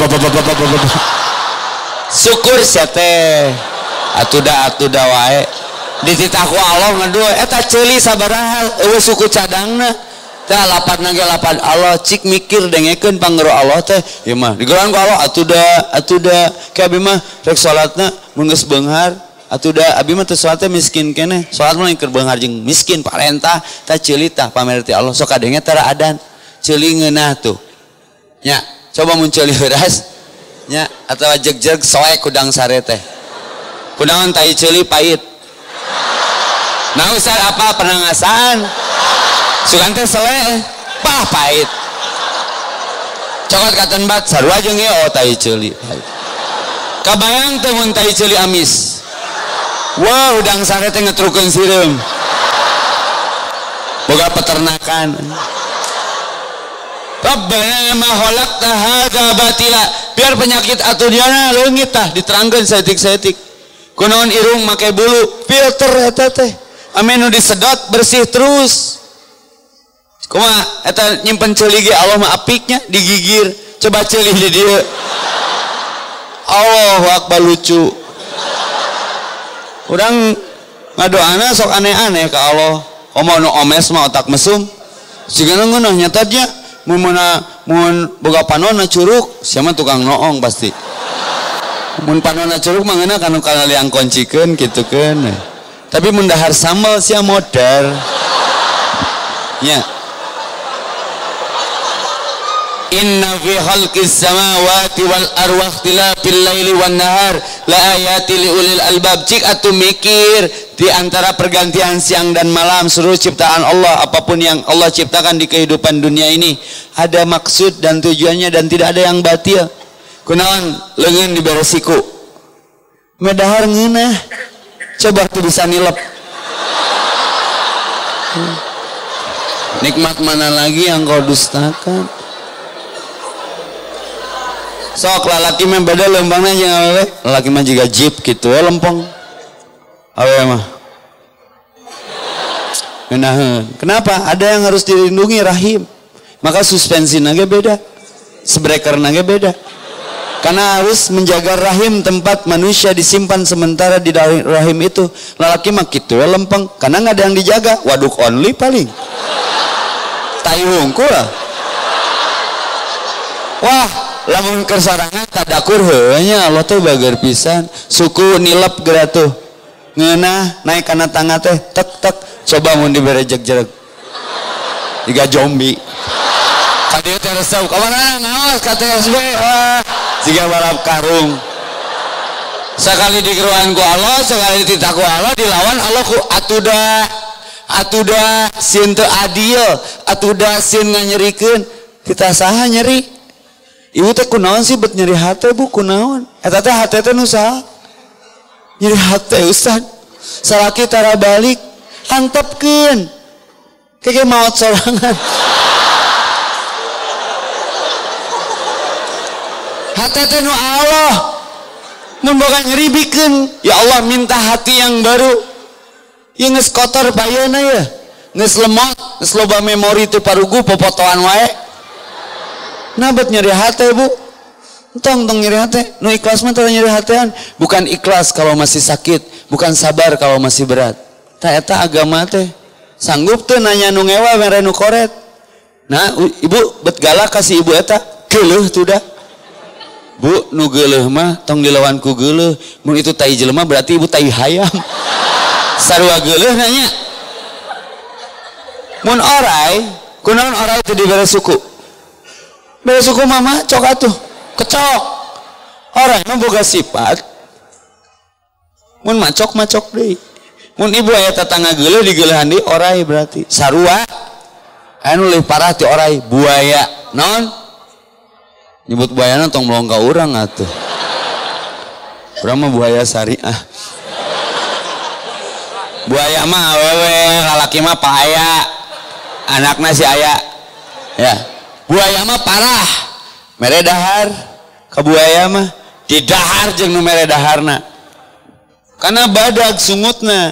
syukur sia teh atuda wae dititaku Allah ngadua eta ceuli sabaraha eueuh suku cadangna teh lapatna ge lapat Allah cik mikir dengekeun panggeru Allah teh ieu mah digeran ku Allah atuda ke abi mah rek salatna mun geus beunghar atuda abi mah teu salat teh miskin keneh salat mah keur beunghar jeung miskin parentah tah ceuli tah pamer ti Allah sok kadenge tara adan ceuli ngeunah tuh nya coba muncul heuras nya atawa jeg-jeg soek kudang sare teh kunaon tai ceuli pait nah ustaz apa pernah ngasaan sugan teh seleh pah pait cokot katen bat sarua jeung ieu tai ceuli kabayang teh mun tai ceuli amis wah udang sare teh ngetrukeun sireum boga peternakan Rabbana ma khalaqta hadza batila biar penyakit atudiana leungit tah diterangkeun saeutik-saeutik kunaon irung make bulu filter eta teh ame nu disedot bersih terus kumaha eta nyimpen ceuli ge Allah mah apiknya digigir coba ceuli di dieu Allahu akbar lucu urang ngadoana sok aneh-aneh ka Allah komo nu omes mah otak mesum sigana ngeunah nyatanya mun boga panonna curug siapa tukang noong pasti mun panonna curug mah ngeunah kanu kalaliang koncikeun kitukeun tapi mun dahar sambal sia modar nya Inna fi khalqis samawati wal arwah ikhtilafil laili wan nahar la ayati liulil albab. Cik atuh mikir di antara pergantian siang dan malam seluruh ciptaan Allah, apapun yang Allah ciptakan di kehidupan dunia ini ada maksud dan tujuannya dan tidak ada yang batil. Kunaon leungeun diberesiku medahar ngeunah coba tuh bisa nilep. Nikmat mana lagi yang kau dustakan? Sok lalaki mah beda lempangnya jeung awewe. Lalaki mah juga jeep gitu ya lempeng. Awewe mah ngeunaheun. Kenapa? Ada yang harus dilindungi rahim. Maka suspensinya ge beda. Sbreakerna ge beda. Karena harus menjaga rahim tempat manusia disimpan sementara di rahim itu. Lalaki mah kitu ya lempeng karena enggak ada yang dijaga. Waduk only paling. Tai hungkul lah. Wah, lamun kersarangan tadakur heunya Allah teh bager pisan. Suku nilep geura tuh. Ngeunah naik kana tangga teh tek tek coba mun dibere jeg-jeg. Diga zombie. Ka dieu teh resep ka mana ngaos ka TSB. Siga balap karung. Sekali digeruan ku Allah, sekali dititah ku Allah, dilawan Allah ku atuda sin teu adil, atuda sin nganyerikeun. Kita saha nyeri? Ibu teh kunaon sih bet nyeri hati bu kunaon? Eta teh hati teh nu saha? Nyeri hati Ustaz. Salaki tara balik antepkeun. Keke maot sorangan. Hati teh nu Allah. Mun boga nyeri bikeun, ya Allah minta hati yang baru. Ieu geus kotor payeuna ya. Geus lemot, geus loba memori teu parugu popotoan wae. Nah bet nyeri hati bu, tong nyeri hati. Nu ikhlas mah tara nyeri hatian. Bukan ikhlas kalau masih sakit, bukan sabar kalau masih berat. Ta eta agama teh sanggup teu nanya nu ngewa mere nu koret. Nah ibu bet galak kasih ibu eta geuleuh tuh dah. Bu nu geuleuh mah tong dilawan ku geuleuh. Mun itu tai jelema berarti ibu tai hayam. Sarua geuleuh nanya. Mun orai, kunaon orai teu dibere suku? Bere suku mama cok atuh kecok. Orang mah boga sifat mun macok deui. Mun ibu aya tetangga geuleuh digeuleuhan deui orai berarti sarua anu leuwih parah ti orai buaya. Naon? Nyebut buayana tong melong ka urang atuh. Urang mah buaya syariah. Buaya mah awewe, lalaki mah paaya. Anakna si aya. Ya. Buaya mah parah mere dahar ka buaya mah di dahar jeung nu mere daharna karena badag sungutna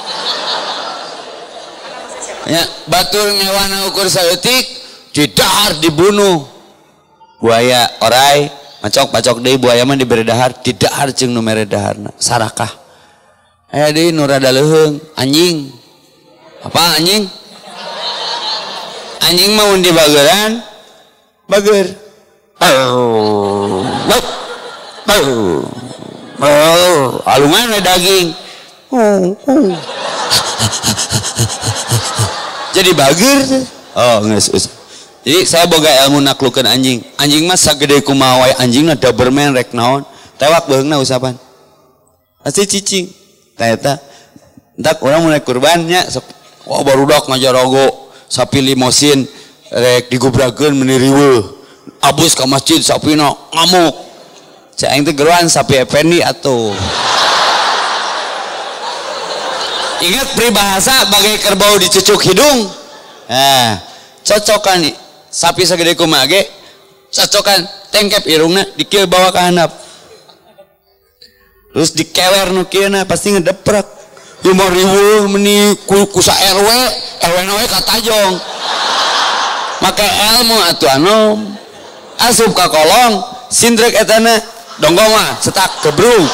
ya batur ngewana ukur saeutik di dahar dibunuh buaya orai macok deui buaya mah dibere dahar di dahar jeung nu mere daharna sarakah aya deui nu rada leuheung anjing apa anjing mah mun dibageuran bager alungan we daging jadi bager geus. Jadi saya boga ilmu naklukeun anjing mah sagede kumaha wae anjingna Doberman rek naon tewak beungna usapan pasti cicing tah eta entak urang mun kurban nya sok barudak ngajarogo sapi limosin rek digubrakeun meuni riweuh abus ka masjid sapina ngamuk cek aing teh geruan sapi Effendi atuh. Ingat peribahasa bagai kerbau dicucuk hidung. Nah cocokan sapi sagede kumaha ge cocokan tengkep irungna dikieu bawa ka handap terus dikewer nu kieu na pasti ngedeprek lima riweuh meuni ku sa RW na we katajong. Make ilmu atuh anom asup ka kolong sindrek etana donggong mah cetak gebrung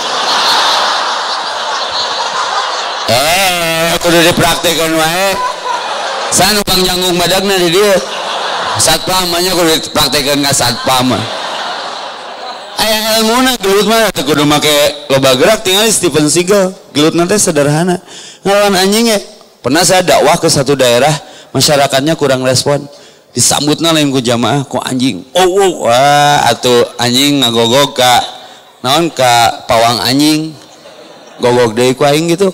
kudu dipraktekeun wae sanu Bang Janggung badagna di dieu satpam nya kudu dipraktekeun ka satpam aya ilmuna gelut mah teu kudu make loba gerak tinggal Steven Seagal gelutna teh sederhana ngelawan anjing ya. Pernah saya dakwah ke satu daerah masyarakatnya kurang respon disambutna lain ku jamaah ku anjing. Wah atuh anjing ngagogog ka naon ka pawang anjing. Gogog deui ku aing gitu.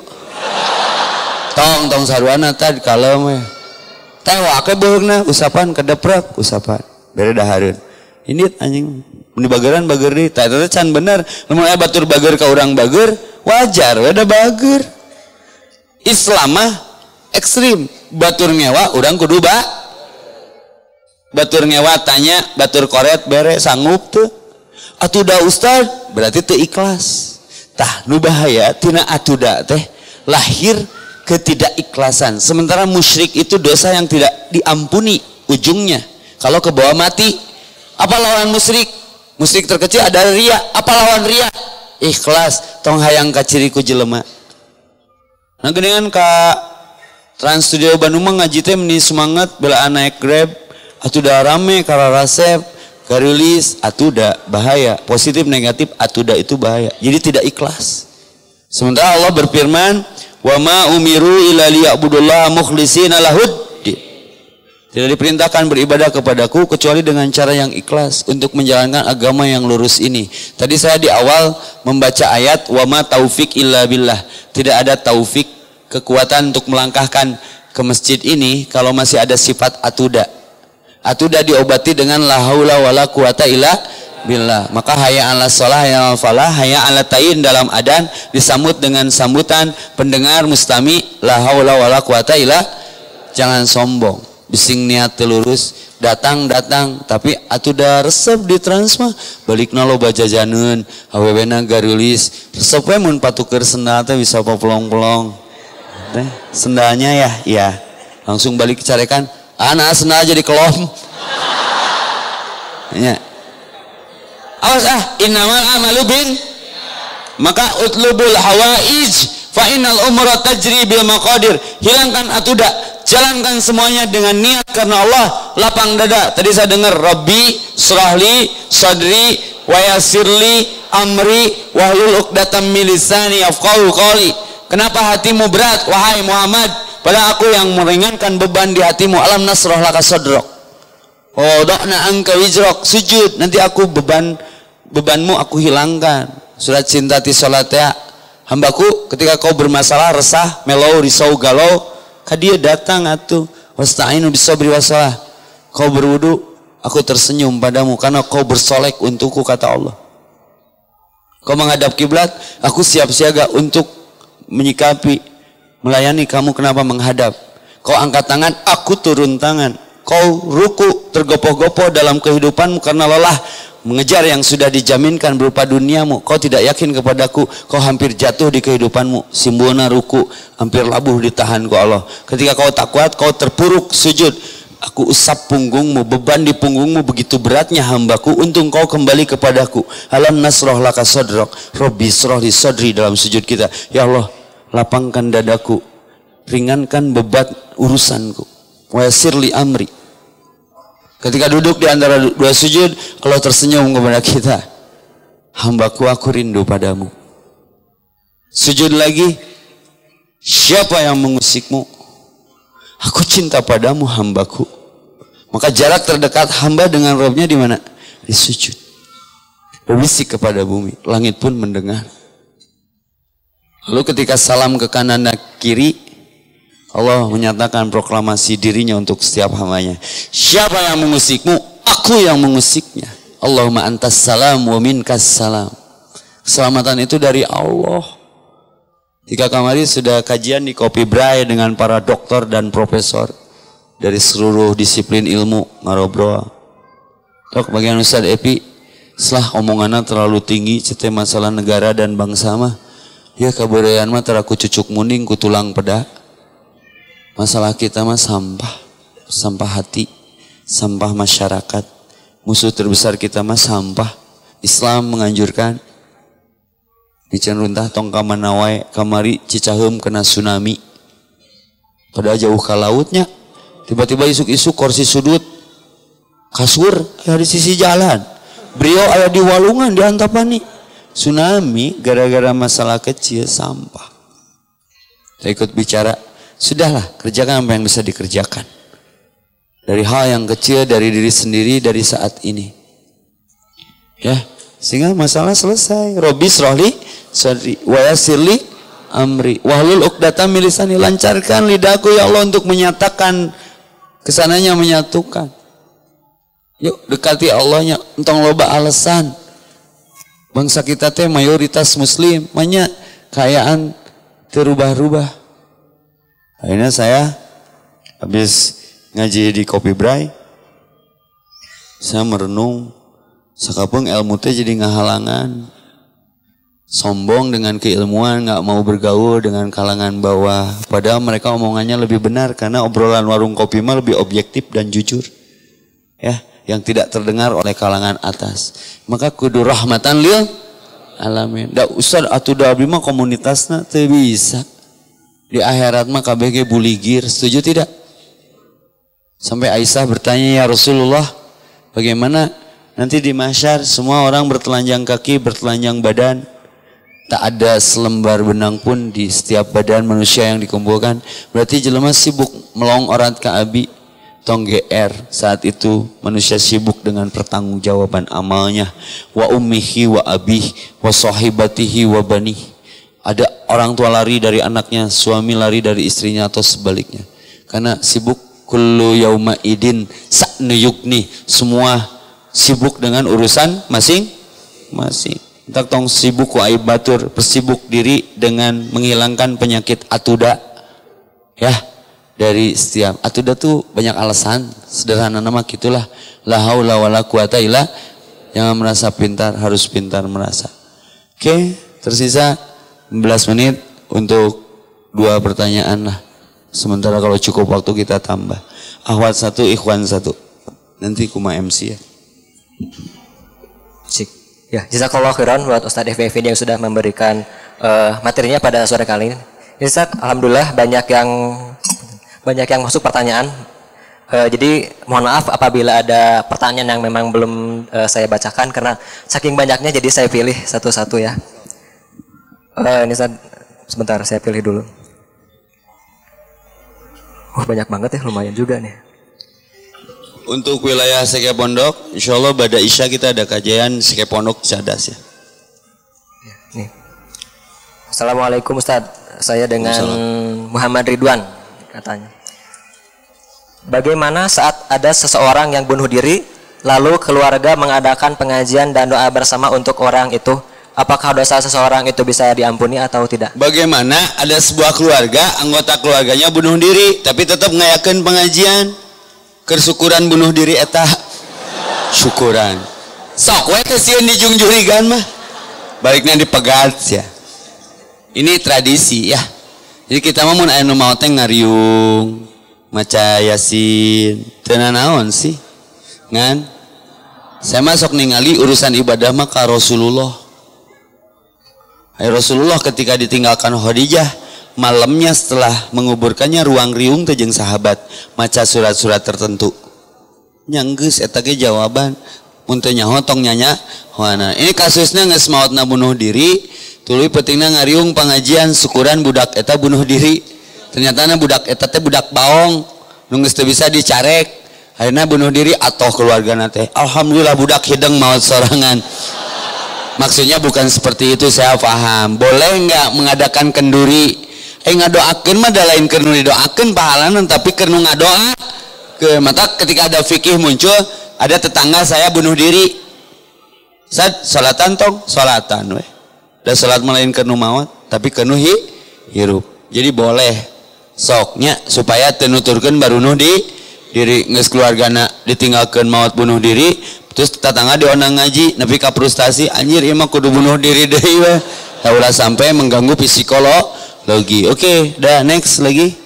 Tong saruana tah kalem we. Teh wake beugna usapan kedeprek usapan. Bere dahareun. Ini anjing mun bageran bager deui tah eta can bener. Lamun aya batur bager ka urang bager wajar we da bager. Islam mah ekstrim. Batur ngewa urang kudu batur ngewa tanya batur koret bere sanggup tuh atuda ustad berarti teu ikhlas. Tah nu bahaya tina atuda teh lahir ketidakikhlasan. Sementara musyrik itu dosa yang tidak diampuni ujungnya kalau ke bawah mati. Apa lawan musyrik? Musyrik terkecil ada ria. Apa lawan ria? Ikhlas. Tong hayang ka ciri ku jelema. Nah geningan ka Trans Studio Bandung mah ngaji teh meni semangat belaan naik Grab atuda rame kara resep garilis atuda bahaya. Positif negatif atuda itu bahaya. Jadi tidak ikhlas. Sementara Allah berfirman wa ma umiru illa liya'budullaha mukhlishina lahud. Tidak diperintahkan beribadah kepadaku kecuali dengan cara yang ikhlas untuk menjalankan agama yang lurus ini. Tadi saya di awal membaca ayat wa ma taufik illa billah. Tidak ada taufik kekuatan untuk melangkahkan ke masjid ini kalau masih ada sifat atuda. Atuda diobati dengan la haula wala quwata illa billah. Maka hayya 'alas shalah, hayya 'alal falah, hayya 'alat ta'yin dalam adzan disambut dengan sambutan pendengar mustami la haula wala quwata illa. Jangan sombong, bising niat lurus, datang tapi atuda resep di Trans mah balikna loba jajaneun, awewena garilis, resep we mun patuker sendal teh bisa popolong-polong. Sendalnya ya langsung balik carekan anak sendal jadi kelom ya. Awas innamal amalu bin maka utlubul hawaij fa innal umra tajri bil maqadir. Hilangkan atuda, jalankan semuanya dengan niat karena Allah. Lapang dada. Tadi saya dengar Rabbi surahli sadri wa yassirli amri wahlul 'uqdatam min lisani yafqahu qawli. Kenapa hatimu berat wahai Muhammad? Padahal aku yang meringankan beban di hatimu. Alam nasrah laka sadrak. Oh, do'na angka wizrak. Sujud. Nanti aku bebanmu aku hilangkan. Surat cinta ti salat ya. Hambaku ketika kau bermasalah resah, melau, risau, galau, ka dia datang atuh. Wasta'inu bisabri wasalah. Kau berwudu, aku tersenyum padamu karena kau bersolek untukku kata Allah. Kau menghadap kiblat, aku siap siaga untuk menyikapi, melayani kamu. Kenapa menghadap? Kau angkat tangan, aku turun tangan. Kau ruku, tergopoh-gopoh dalam kehidupanmu karena lelah mengejar yang sudah dijaminkan berupa duniamu. Kau tidak yakin kepadaku, kau hampir jatuh di kehidupanmu. Simbona ruku, hampir labuh ditahan ku Allah. Ketika kau tak kuat, kau terpuruk sujud. Aku usap punggungmu, beban di punggungmu begitu beratnya hambaku, untung kau kembali kepadaku. Alam nasroh laka sodrok, Robbi sroh di sodri dalam sujud kita. Ya Allah, lapangkan dadaku, ringankan beban urusanku. Wa yassirli amri. Ketika duduk di antara dua sujud, Allah tersenyum kepada kita. Hambaku, aku rindu padamu. Sujud lagi, siapa yang mengusikmu? Aku cinta padamu hambaku. Maka jarak terdekat hamba dengan Rabbnya di mana? Di sujud. Berbisik kepada bumi, langit pun mendengar. Lalu ketika salam ke kanan dan kiri, Allah menyatakan proklamasi dirinya untuk setiap hambanya. Siapa yang mengusikmu? Aku yang mengusiknya. Allahumma antas salam wa minkas salam. Keselamatan itu dari Allah. Jika kemarin sudah kajian di Kopi Bray dengan para dokter dan profesor dari seluruh disiplin ilmu ngarobrol. Tok bagian Ustaz Epi, setelah omongannya terlalu tinggi cetai masalah negara dan bangsa mah, ya kabudayaan mah teraku cucuk muning ku tulang peda. Masalah kita mah sampah, sampah hati, sampah masyarakat. Musuh terbesar kita mah sampah. Islam menganjurkan bican runtah tong kamanawai kamari Cicaheum kena tsunami. Pada jauh ke lautnya, tiba-tiba isuk-isuk kursi sudut kasur ada di sisi jalan. Beliau ada di Walungan di Antapani. Tsunami gara-gara masalah kecil sampah. Saya ikut bicara, sudahlah kerjakan apa yang bisa dikerjakan. Dari hal yang kecil, dari diri sendiri, dari saat ini. Ya, sehingga masalah selesai. Robbi srohli sadri wa yassirli amri wahlul 'uqdatam min lisani, lancarkan lidahku ya Allah untuk menyatakan kesananya menyatukan. Yuk dekati Allahnya, entong loba alasan. Bangsa kita teh mayoritas muslim, banyak kayaan terubah-rubah. Akhirnya saya habis ngaji di Kopi Bray, saya merenung, sakapung ilmu teh jadi ngahalangan. Sombong dengan keilmuan, gak mau bergaul dengan kalangan bawah. Padahal mereka omongannya lebih benar, karena obrolan warung kopi mah lebih objektif dan jujur. Ya, yang tidak terdengar oleh kalangan atas. Maka kudu rahmatan lil alamin. Da ustad atuh da abdi mah komunitasna teu bisa. Di akhirat mah KBG buligir, setuju tidak? Sampai Aisyah bertanya, ya Rasulullah, bagaimana nanti di mahsyar semua orang bertelanjang kaki, bertelanjang badan, tak ada selembar benang pun di setiap badan manusia yang dikumpulkan. Berarti jelema sibuk melong orat ka abi, tong GR. Saat itu manusia sibuk dengan pertanggungjawaban amalnya. Wa ummihi wa abih wa sahibatihi wa banih. Ada orang tua lari dari anaknya, suami lari dari istrinya, atau sebaliknya. Karena sibuk. Kullu yauma idin sa'nu yukni, semua sibuk dengan urusan masing-masing. Tak tong sibuk ku aib batur, bersibuk diri dengan menghilangkan penyakit atuda. Ya, dari setiap atuda tuh banyak alasan, sederhana nama gitulah. La haula wala quwata illa, jangan merasa pintar, harus pintar merasa. Oke, tersisa 11 menit untuk 2 pertanyaan lah. Sementara kalau cukup waktu kita tambah. Akhwat 1, ikhwan 1. Nanti kuma MC ya.
Sik. Ya, jazakallah khairan buat Ustadz FFV yang sudah memberikan materinya pada sore kali ini. Ya, Ustadz, alhamdulillah banyak yang masuk pertanyaan. Jadi mohon maaf apabila ada pertanyaan yang memang belum saya bacakan karena saking banyaknya jadi saya pilih satu-satu ya. Ini Ustadz, sebentar saya pilih dulu. Banyak banget ya, lumayan juga nih.
Untuk wilayah Seke Pondok, insya Allah pada Isya kita ada kajian Seke Pondok Cadas ya.
Nih. Assalamualaikum Ustadz, saya dengan Muhammad Ridwan katanya. Bagaimana saat ada seseorang yang bunuh diri, lalu keluarga mengadakan pengajian dan doa bersama untuk orang itu? Apakah dosa seseorang itu bisa diampuni atau tidak?
Bagaimana ada sebuah keluarga, anggota keluarganya bunuh diri, tapi tetap ngayakeun pengajian, kersyukuran bunuh diri eta, syukuran. Sok we teh sieun dijungjurigan mah, baliknya dipegat ya. Ini tradisi ya. Jadi kita mah mun aya nu maot teh ngariung, maca Yasin, teu naon sih, ngan. Saya masuk ningali urusan ibadah mah ka Rasulullah. Rasulullah ketika ditinggalkan Khadijah, malamnya setelah menguburkannya ruang riung teh jeung sahabat maca surat-surat tertentu. Nyanggeus eta ge jawaban. Mun teu nyaho tong nyanya. Hoana. Ini kasusnya geus maotna bunuh diri, tuluy pentingna ngariung pengajian syukuran budak eta bunuh diri. Ternyata budak eta teh budak baong, nu geus teu bisa dicarek. Akhirna bunuh diri atoh keluargana teh. Alhamdulillah budak hideng maot sorangan. Maksudnya bukan seperti itu, saya paham. Boleh nggak mengadakan kenduri? Ngadoakeun mah da lain keur nu didoakeun pahalanan, tapi keur nu ngadoa ke mata ketika ada fikih muncul, ada tetangga saya bunuh diri. Salatan tong, salatan we. Da salat lain keur nu maot, tapi keur nu hirup. Jadi boleh soknya supaya teu nuturkeun baru nuh di diri geus keluargana ditinggalkeun maot bunuh diri. Terus tetangga diondang ngaji, nepi ka frustasi, anjir ieu mah kudu bunuh diri deui we. Ulah sampai mengganggu psikologi. Oke, dah next lagi.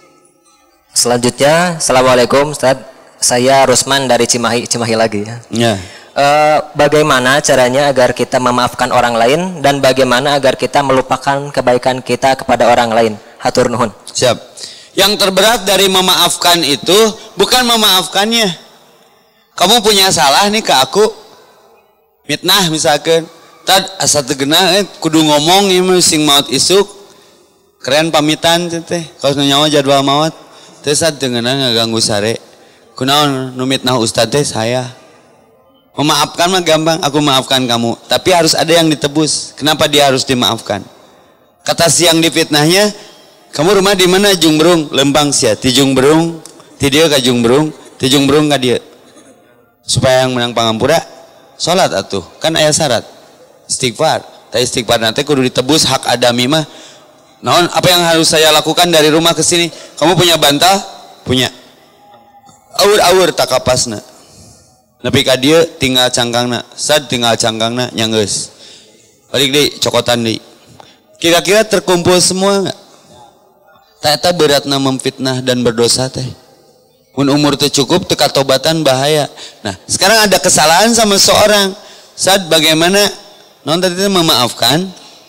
Selanjutnya, Assalamualaikum Ustaz. Saya Rusman dari Cimahi lagi ya.
Ya.
Bagaimana caranya agar kita memaafkan orang lain dan bagaimana agar kita melupakan kebaikan kita kepada orang lain? Hatur nuhun.
Siap. Yang terberat dari memaafkan itu bukan memaafkannya. Kamu punya salah nih ke aku, mitnah misalkan, tad asa teu geunah kudu ngomong ieu mah sing maot isuk, keren pamitan teh, kaos nyawa jadwal maot, teu sad teu geunah ngaganggu sare, Kunaon nu mitnah ustad teh saya. Memaafkan mah gampang, aku maafkan kamu, tapi harus ada yang ditebus. Kenapa dia harus dimaafkan? Kata si yang difitnahnya, kamu rumah di mana? Jungberung, Lembang sia. Ti Jungberung, ti dieu ka Jungberung, ti Jungberung ka dieu. Supaya yang menang pangampura, salat atuh. Kan aya syarat. Istighfar. Tapi istighfar nanti kudu ditebus hak adami mah. Naon apa yang harus saya lakukan dari rumah ke sini? Kamu punya bantal? Punya. Aur-aur tak kapasna. Nepi ka dieu tinggal cangkangna. Sad tinggal cangkangna nyanggeus. Balik deui cokotan deui. Kira-kira terkumpul semua enggak? Eta beratna memfitnah dan berdosa teh. Mun umur teu cukup teu katobatan bahaya. Nah, sekarang ada kesalahan sama seorang. Saat bagaimana non tadi memaafkan?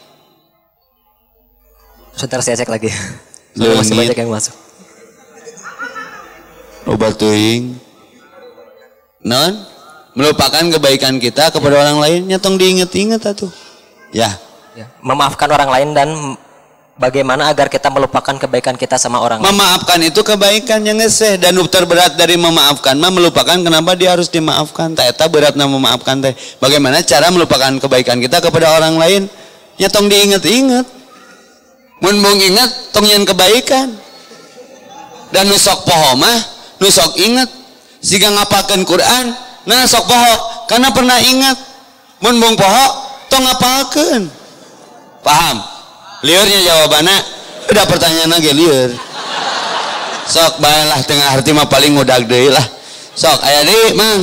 Sebentar saya cek lagi. Masih banyak yang masuk.
Obat teuing. Non melupakan kebaikan kita kepada orang lain nyatong diinget-inget atuh. Ya.
Memaafkan orang lain dan bagaimana agar kita melupakan kebaikan kita sama orang lain.
Memaafkan itu kebaikan yang ngeseh dan terberat dari memaafkan mah melupakan kenapa dia harus dimaafkan. Eta beratna memaafkan teh. Bagaimana cara melupakan kebaikan kita kepada orang lain? Nya tong diinget-inget. Mun mung inget tong nyen kebaikan. Dan nu sok poho mah nu sok inget. Siga ngapalkeun Quran, nah sok poho karena pernah ingat. Mun mung poho tong ngapalkeun. Paham? Liurnya jawabannya udah pertanyaan lagi liur. Sok baiklah tengah arti mah paling ngudag deui lah. Sok aya deui mang.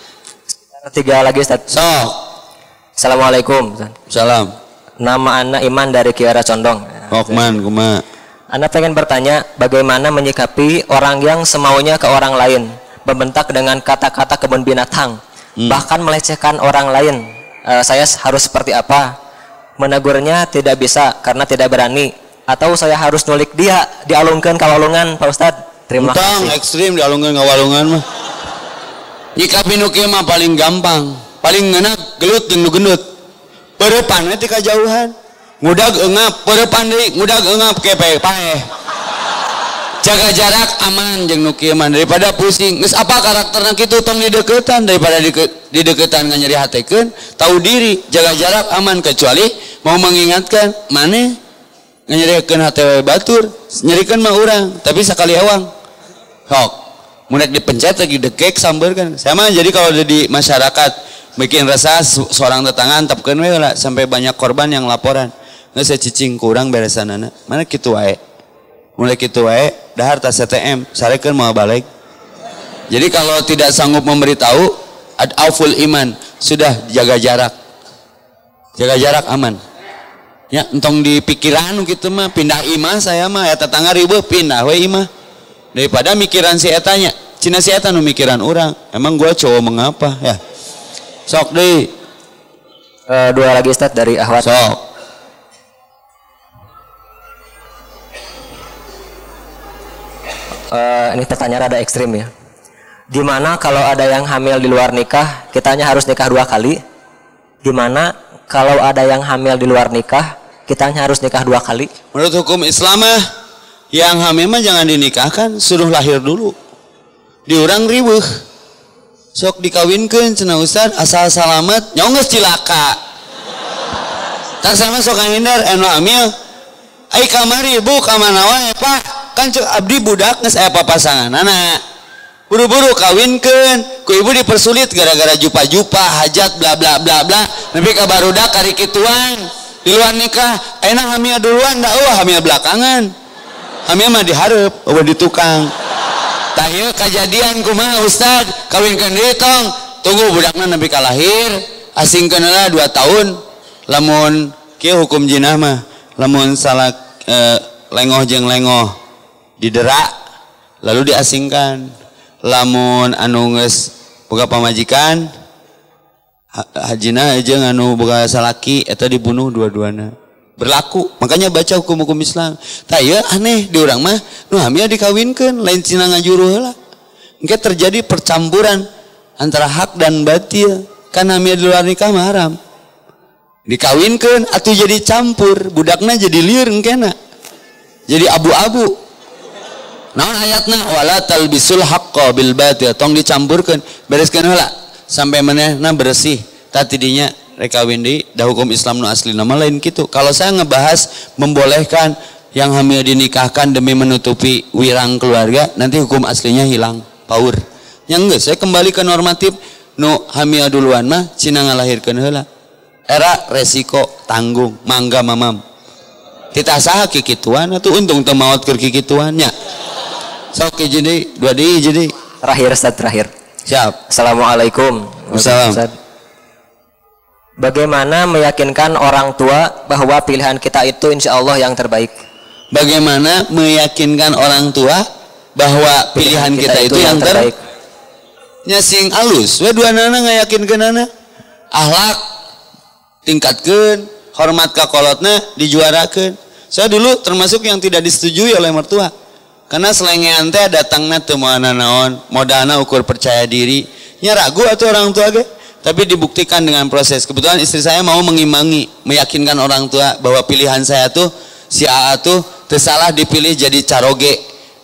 3 lagi Ustaz.
Sok.
Assalamualaikum Ustaz.
Salam.
Nama Ana Iman dari Kiara Condong.
Okman kumaha?
Ana pengen bertanya bagaimana menyikapi orang yang semaunya ke orang lain, membentak dengan kata-kata kebun binatang, bahkan melecehkan orang lain. Saya harus seperti apa? Menegurnya tidak bisa karena tidak berani, atau saya harus nulik dia dialungkeun ka walungan Pak Ustad? Terima kasih.
Ekstrim dialungkeun ka walungan mah. Nyikapi nu kieu mah paling gampang, paling ngeunak gelut jeung nu gendut. Peurepan we ti kajauhan. Ngudag eungap, peurepan deui, ngudag eungap ke paeh. Jaga jarak aman jeung nu kieu mah daripada pusing. Geus apa karakterna kitu tong dideuketan daripada dideuketan nganyeri hatekeun, tahu diri, jaga jarak aman kecuali mau mengingatkan maneh nganyerikeun hate batur, nyerikeun mah urang, tapi sakali awang. Sok, mun dipencet lagi dekek sambeurkeun. Saya mah jadi kalau di masyarakat bikin resah seorang tetangga antepkeun we lah sampai banyak korban yang laporan. Geus cicing kurang beresanana. Mana kitu wae. Mulai kitu wae dahar tas ATM sarekeun mau balik. Jadi kalau tidak sanggup memberitahu auful iman, sudah jaga jarak. Jaga jarak aman. Ya entong di pikiran gitu mah pindah imah saya mah ya tetangga ribuh pindah we imah. Daripada mikiran si etanya. Cina si eta nu mikiran orang. Emang gua cowok mengapa ya? Sok deui.
2 lagi Ustaz dari Ahwat.
Sok.
Ini pertanyaan rada ekstrim ya. Gimana kalau ada yang hamil di luar nikah, kitanya harus nikah 2 kali? Gimana kalau ada yang hamil di luar nikah, kitanya harus nikah 2 kali?
Menurut hukum Islam mah yang hamil mah jangan dinikahkan, suruh lahir dulu. Diurang ribuh. Sok dikawinkeun cenah Ustaz asal selamat nyonggeus cilaka. Tak sama sok ngahindar anu hamil. Ai kamari Bu ka mana wae Pak? Kan cek abdi budak geus aya papasanganana. Buru-buru kawinkeun, ku ibu dipersulit gara-gara jupa-jupa, hajat bla bla bla bla. Nepi ka barudak kari kituan. Di luar nikah, ayeuna hamil duluan da eueuh hamil belakangan. Hamil mah dihareup, eueuh di tukang. Tah ieu kajadian kumaha Ustaz? Kawinkeun deui tong. Tunggu budakna nepi ka lahir, asingkeun heula 2 tahun. Lamun kieu hukum jinah mah, lamun salah lengoh jeung lengoh didera lalu diasingkan. Lamun anu geus boga pamajikan hajina jeung anu boga salaki eta dibunuh dua-duana. Berlaku. Makanya baca hukum-hukum Islam. Tah ieu aneh di urang mah nu hamil dikawinkeun lain cina ngajuru heula. Engke terjadi percampuran antara hak dan batil. Kan hamil di luar nikah mah haram. Dikawinkeun atuh jadi campur, budakna jadi lieur engkena. Jadi abu-abu. naon ayatna wala talbisul haqqo bil batil tong dicampurkeun bereskeun heula sampai manehna bersih tadi dinya rek kawin deui da hukum Islam nu asli nama lain kitu. Kalau saya ngebahas membolehkan yang hamil dinikahkan demi menutupi wirang keluarga nanti hukum aslinya hilang paur nya geus saya kembali ke normatif nu hamil duluan mah cina ngalahirkeun heula era resiko tanggung mangga mamam titah saha kikituan atuh untung teu maot keur kikituan nya. Sok jadi dua di jadi
Terakhir Ustaz, terakhir.
siap.
Assalamualaikum.
Assalam.
Ustaz. Bagaimana meyakinkan orang tua bahwa pilihan kita itu insya Allah yang terbaik?
Bagaimana meyakinkan orang tua bahwa pilihan kita itu yang terbaik? Nya sing alus we duanana ngayakinkeunana akhlak tingkatkeun hormat ka kolotna dijuarakeun. Saya dulu termasuk yang tidak disetujui oleh mertua karena selengean teh datangna teu moal naon modalna ukur percaya diri nya ragu atuh orang tua ge tapi dibuktikan dengan proses. Kebetulan istri saya mau mengimbangi meyakinkan orang tua bahwa pilihan saya tuh si AA tuh teu salah dipilih jadi caroge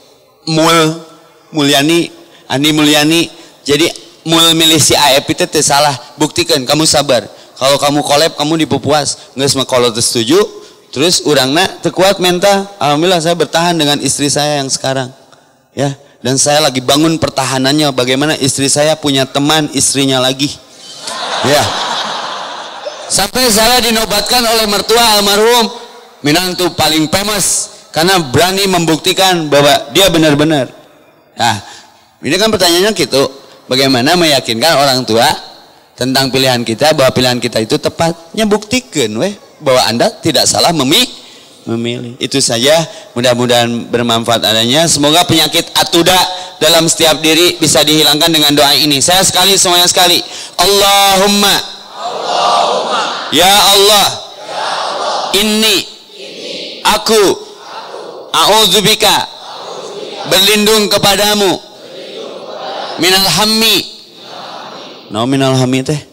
Mulyani Andi Mulyani jadi mul milih si AF itu teu salah buktikan kamu sabar kalau kamu kolab kamu dipupuas geus mah kalau teu setuju terus urangna teu kuat mental. Alhamdulillah saya bertahan dengan istri saya yang sekarang ya dan saya lagi bangun pertahanannya bagaimana istri saya punya teman istrinya lagi ya sampai saya dinobatkan oleh mertua almarhum minantu paling famous karena berani membuktikan bahwa dia benar-benar. Nah ini kan pertanyaannya gitu bagaimana meyakinkan orang tua tentang pilihan kita bahwa pilihan kita itu tepatnya buktikan weh bahwa anda tidak salah memilih. Itu saja mudah-mudahan bermanfaat adanya. Semoga penyakit atuda dalam setiap diri bisa dihilangkan dengan doa ini. Saya sekali semuanya sekali Allahumma ya Allah inni aku a'udzubika berlindung kepadamu minal hammi minal hammi teh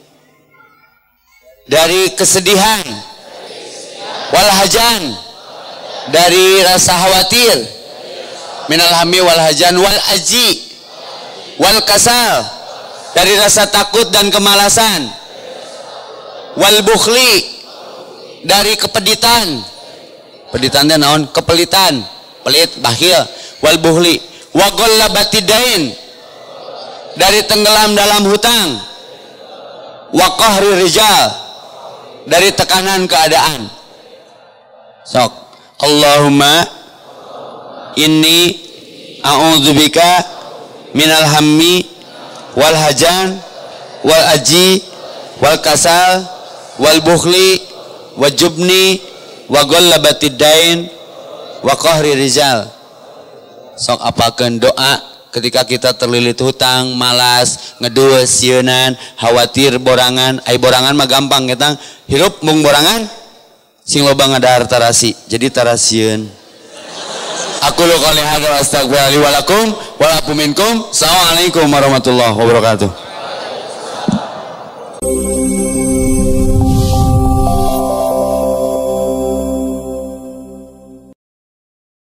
dari kesedihan wal hajan dari rasa khawatir minal hammi wal hajan wal aji wal kasal dari rasa takut dan kemalasan wal bukhli dari kepeditan peditannya naon kepelitan pelit bakhil wal bukhli wa ghallabatidain dari tenggelam dalam hutang wa qahri rijal dari tekanan keadaan. Sok Allahumma inni a'udzubika minal hammi wal hajan wal aji wal kasal wal bukhli wa jubni wa ghallabatidain wa qahri rijal. Sok apakeun doa ketika kita terlilit hutang, malas, ngedueus, sieunnan, khawatir borangan. Ai borangan mah gampang kita hirup mung borangan sing loba ngadahar tarasi jadi tarasieun. Aku lu qouli hadza wa astaghfirullahi wa lakum wa lakum minkum. Assalamualaikum warahmatullahi wabarakatuh.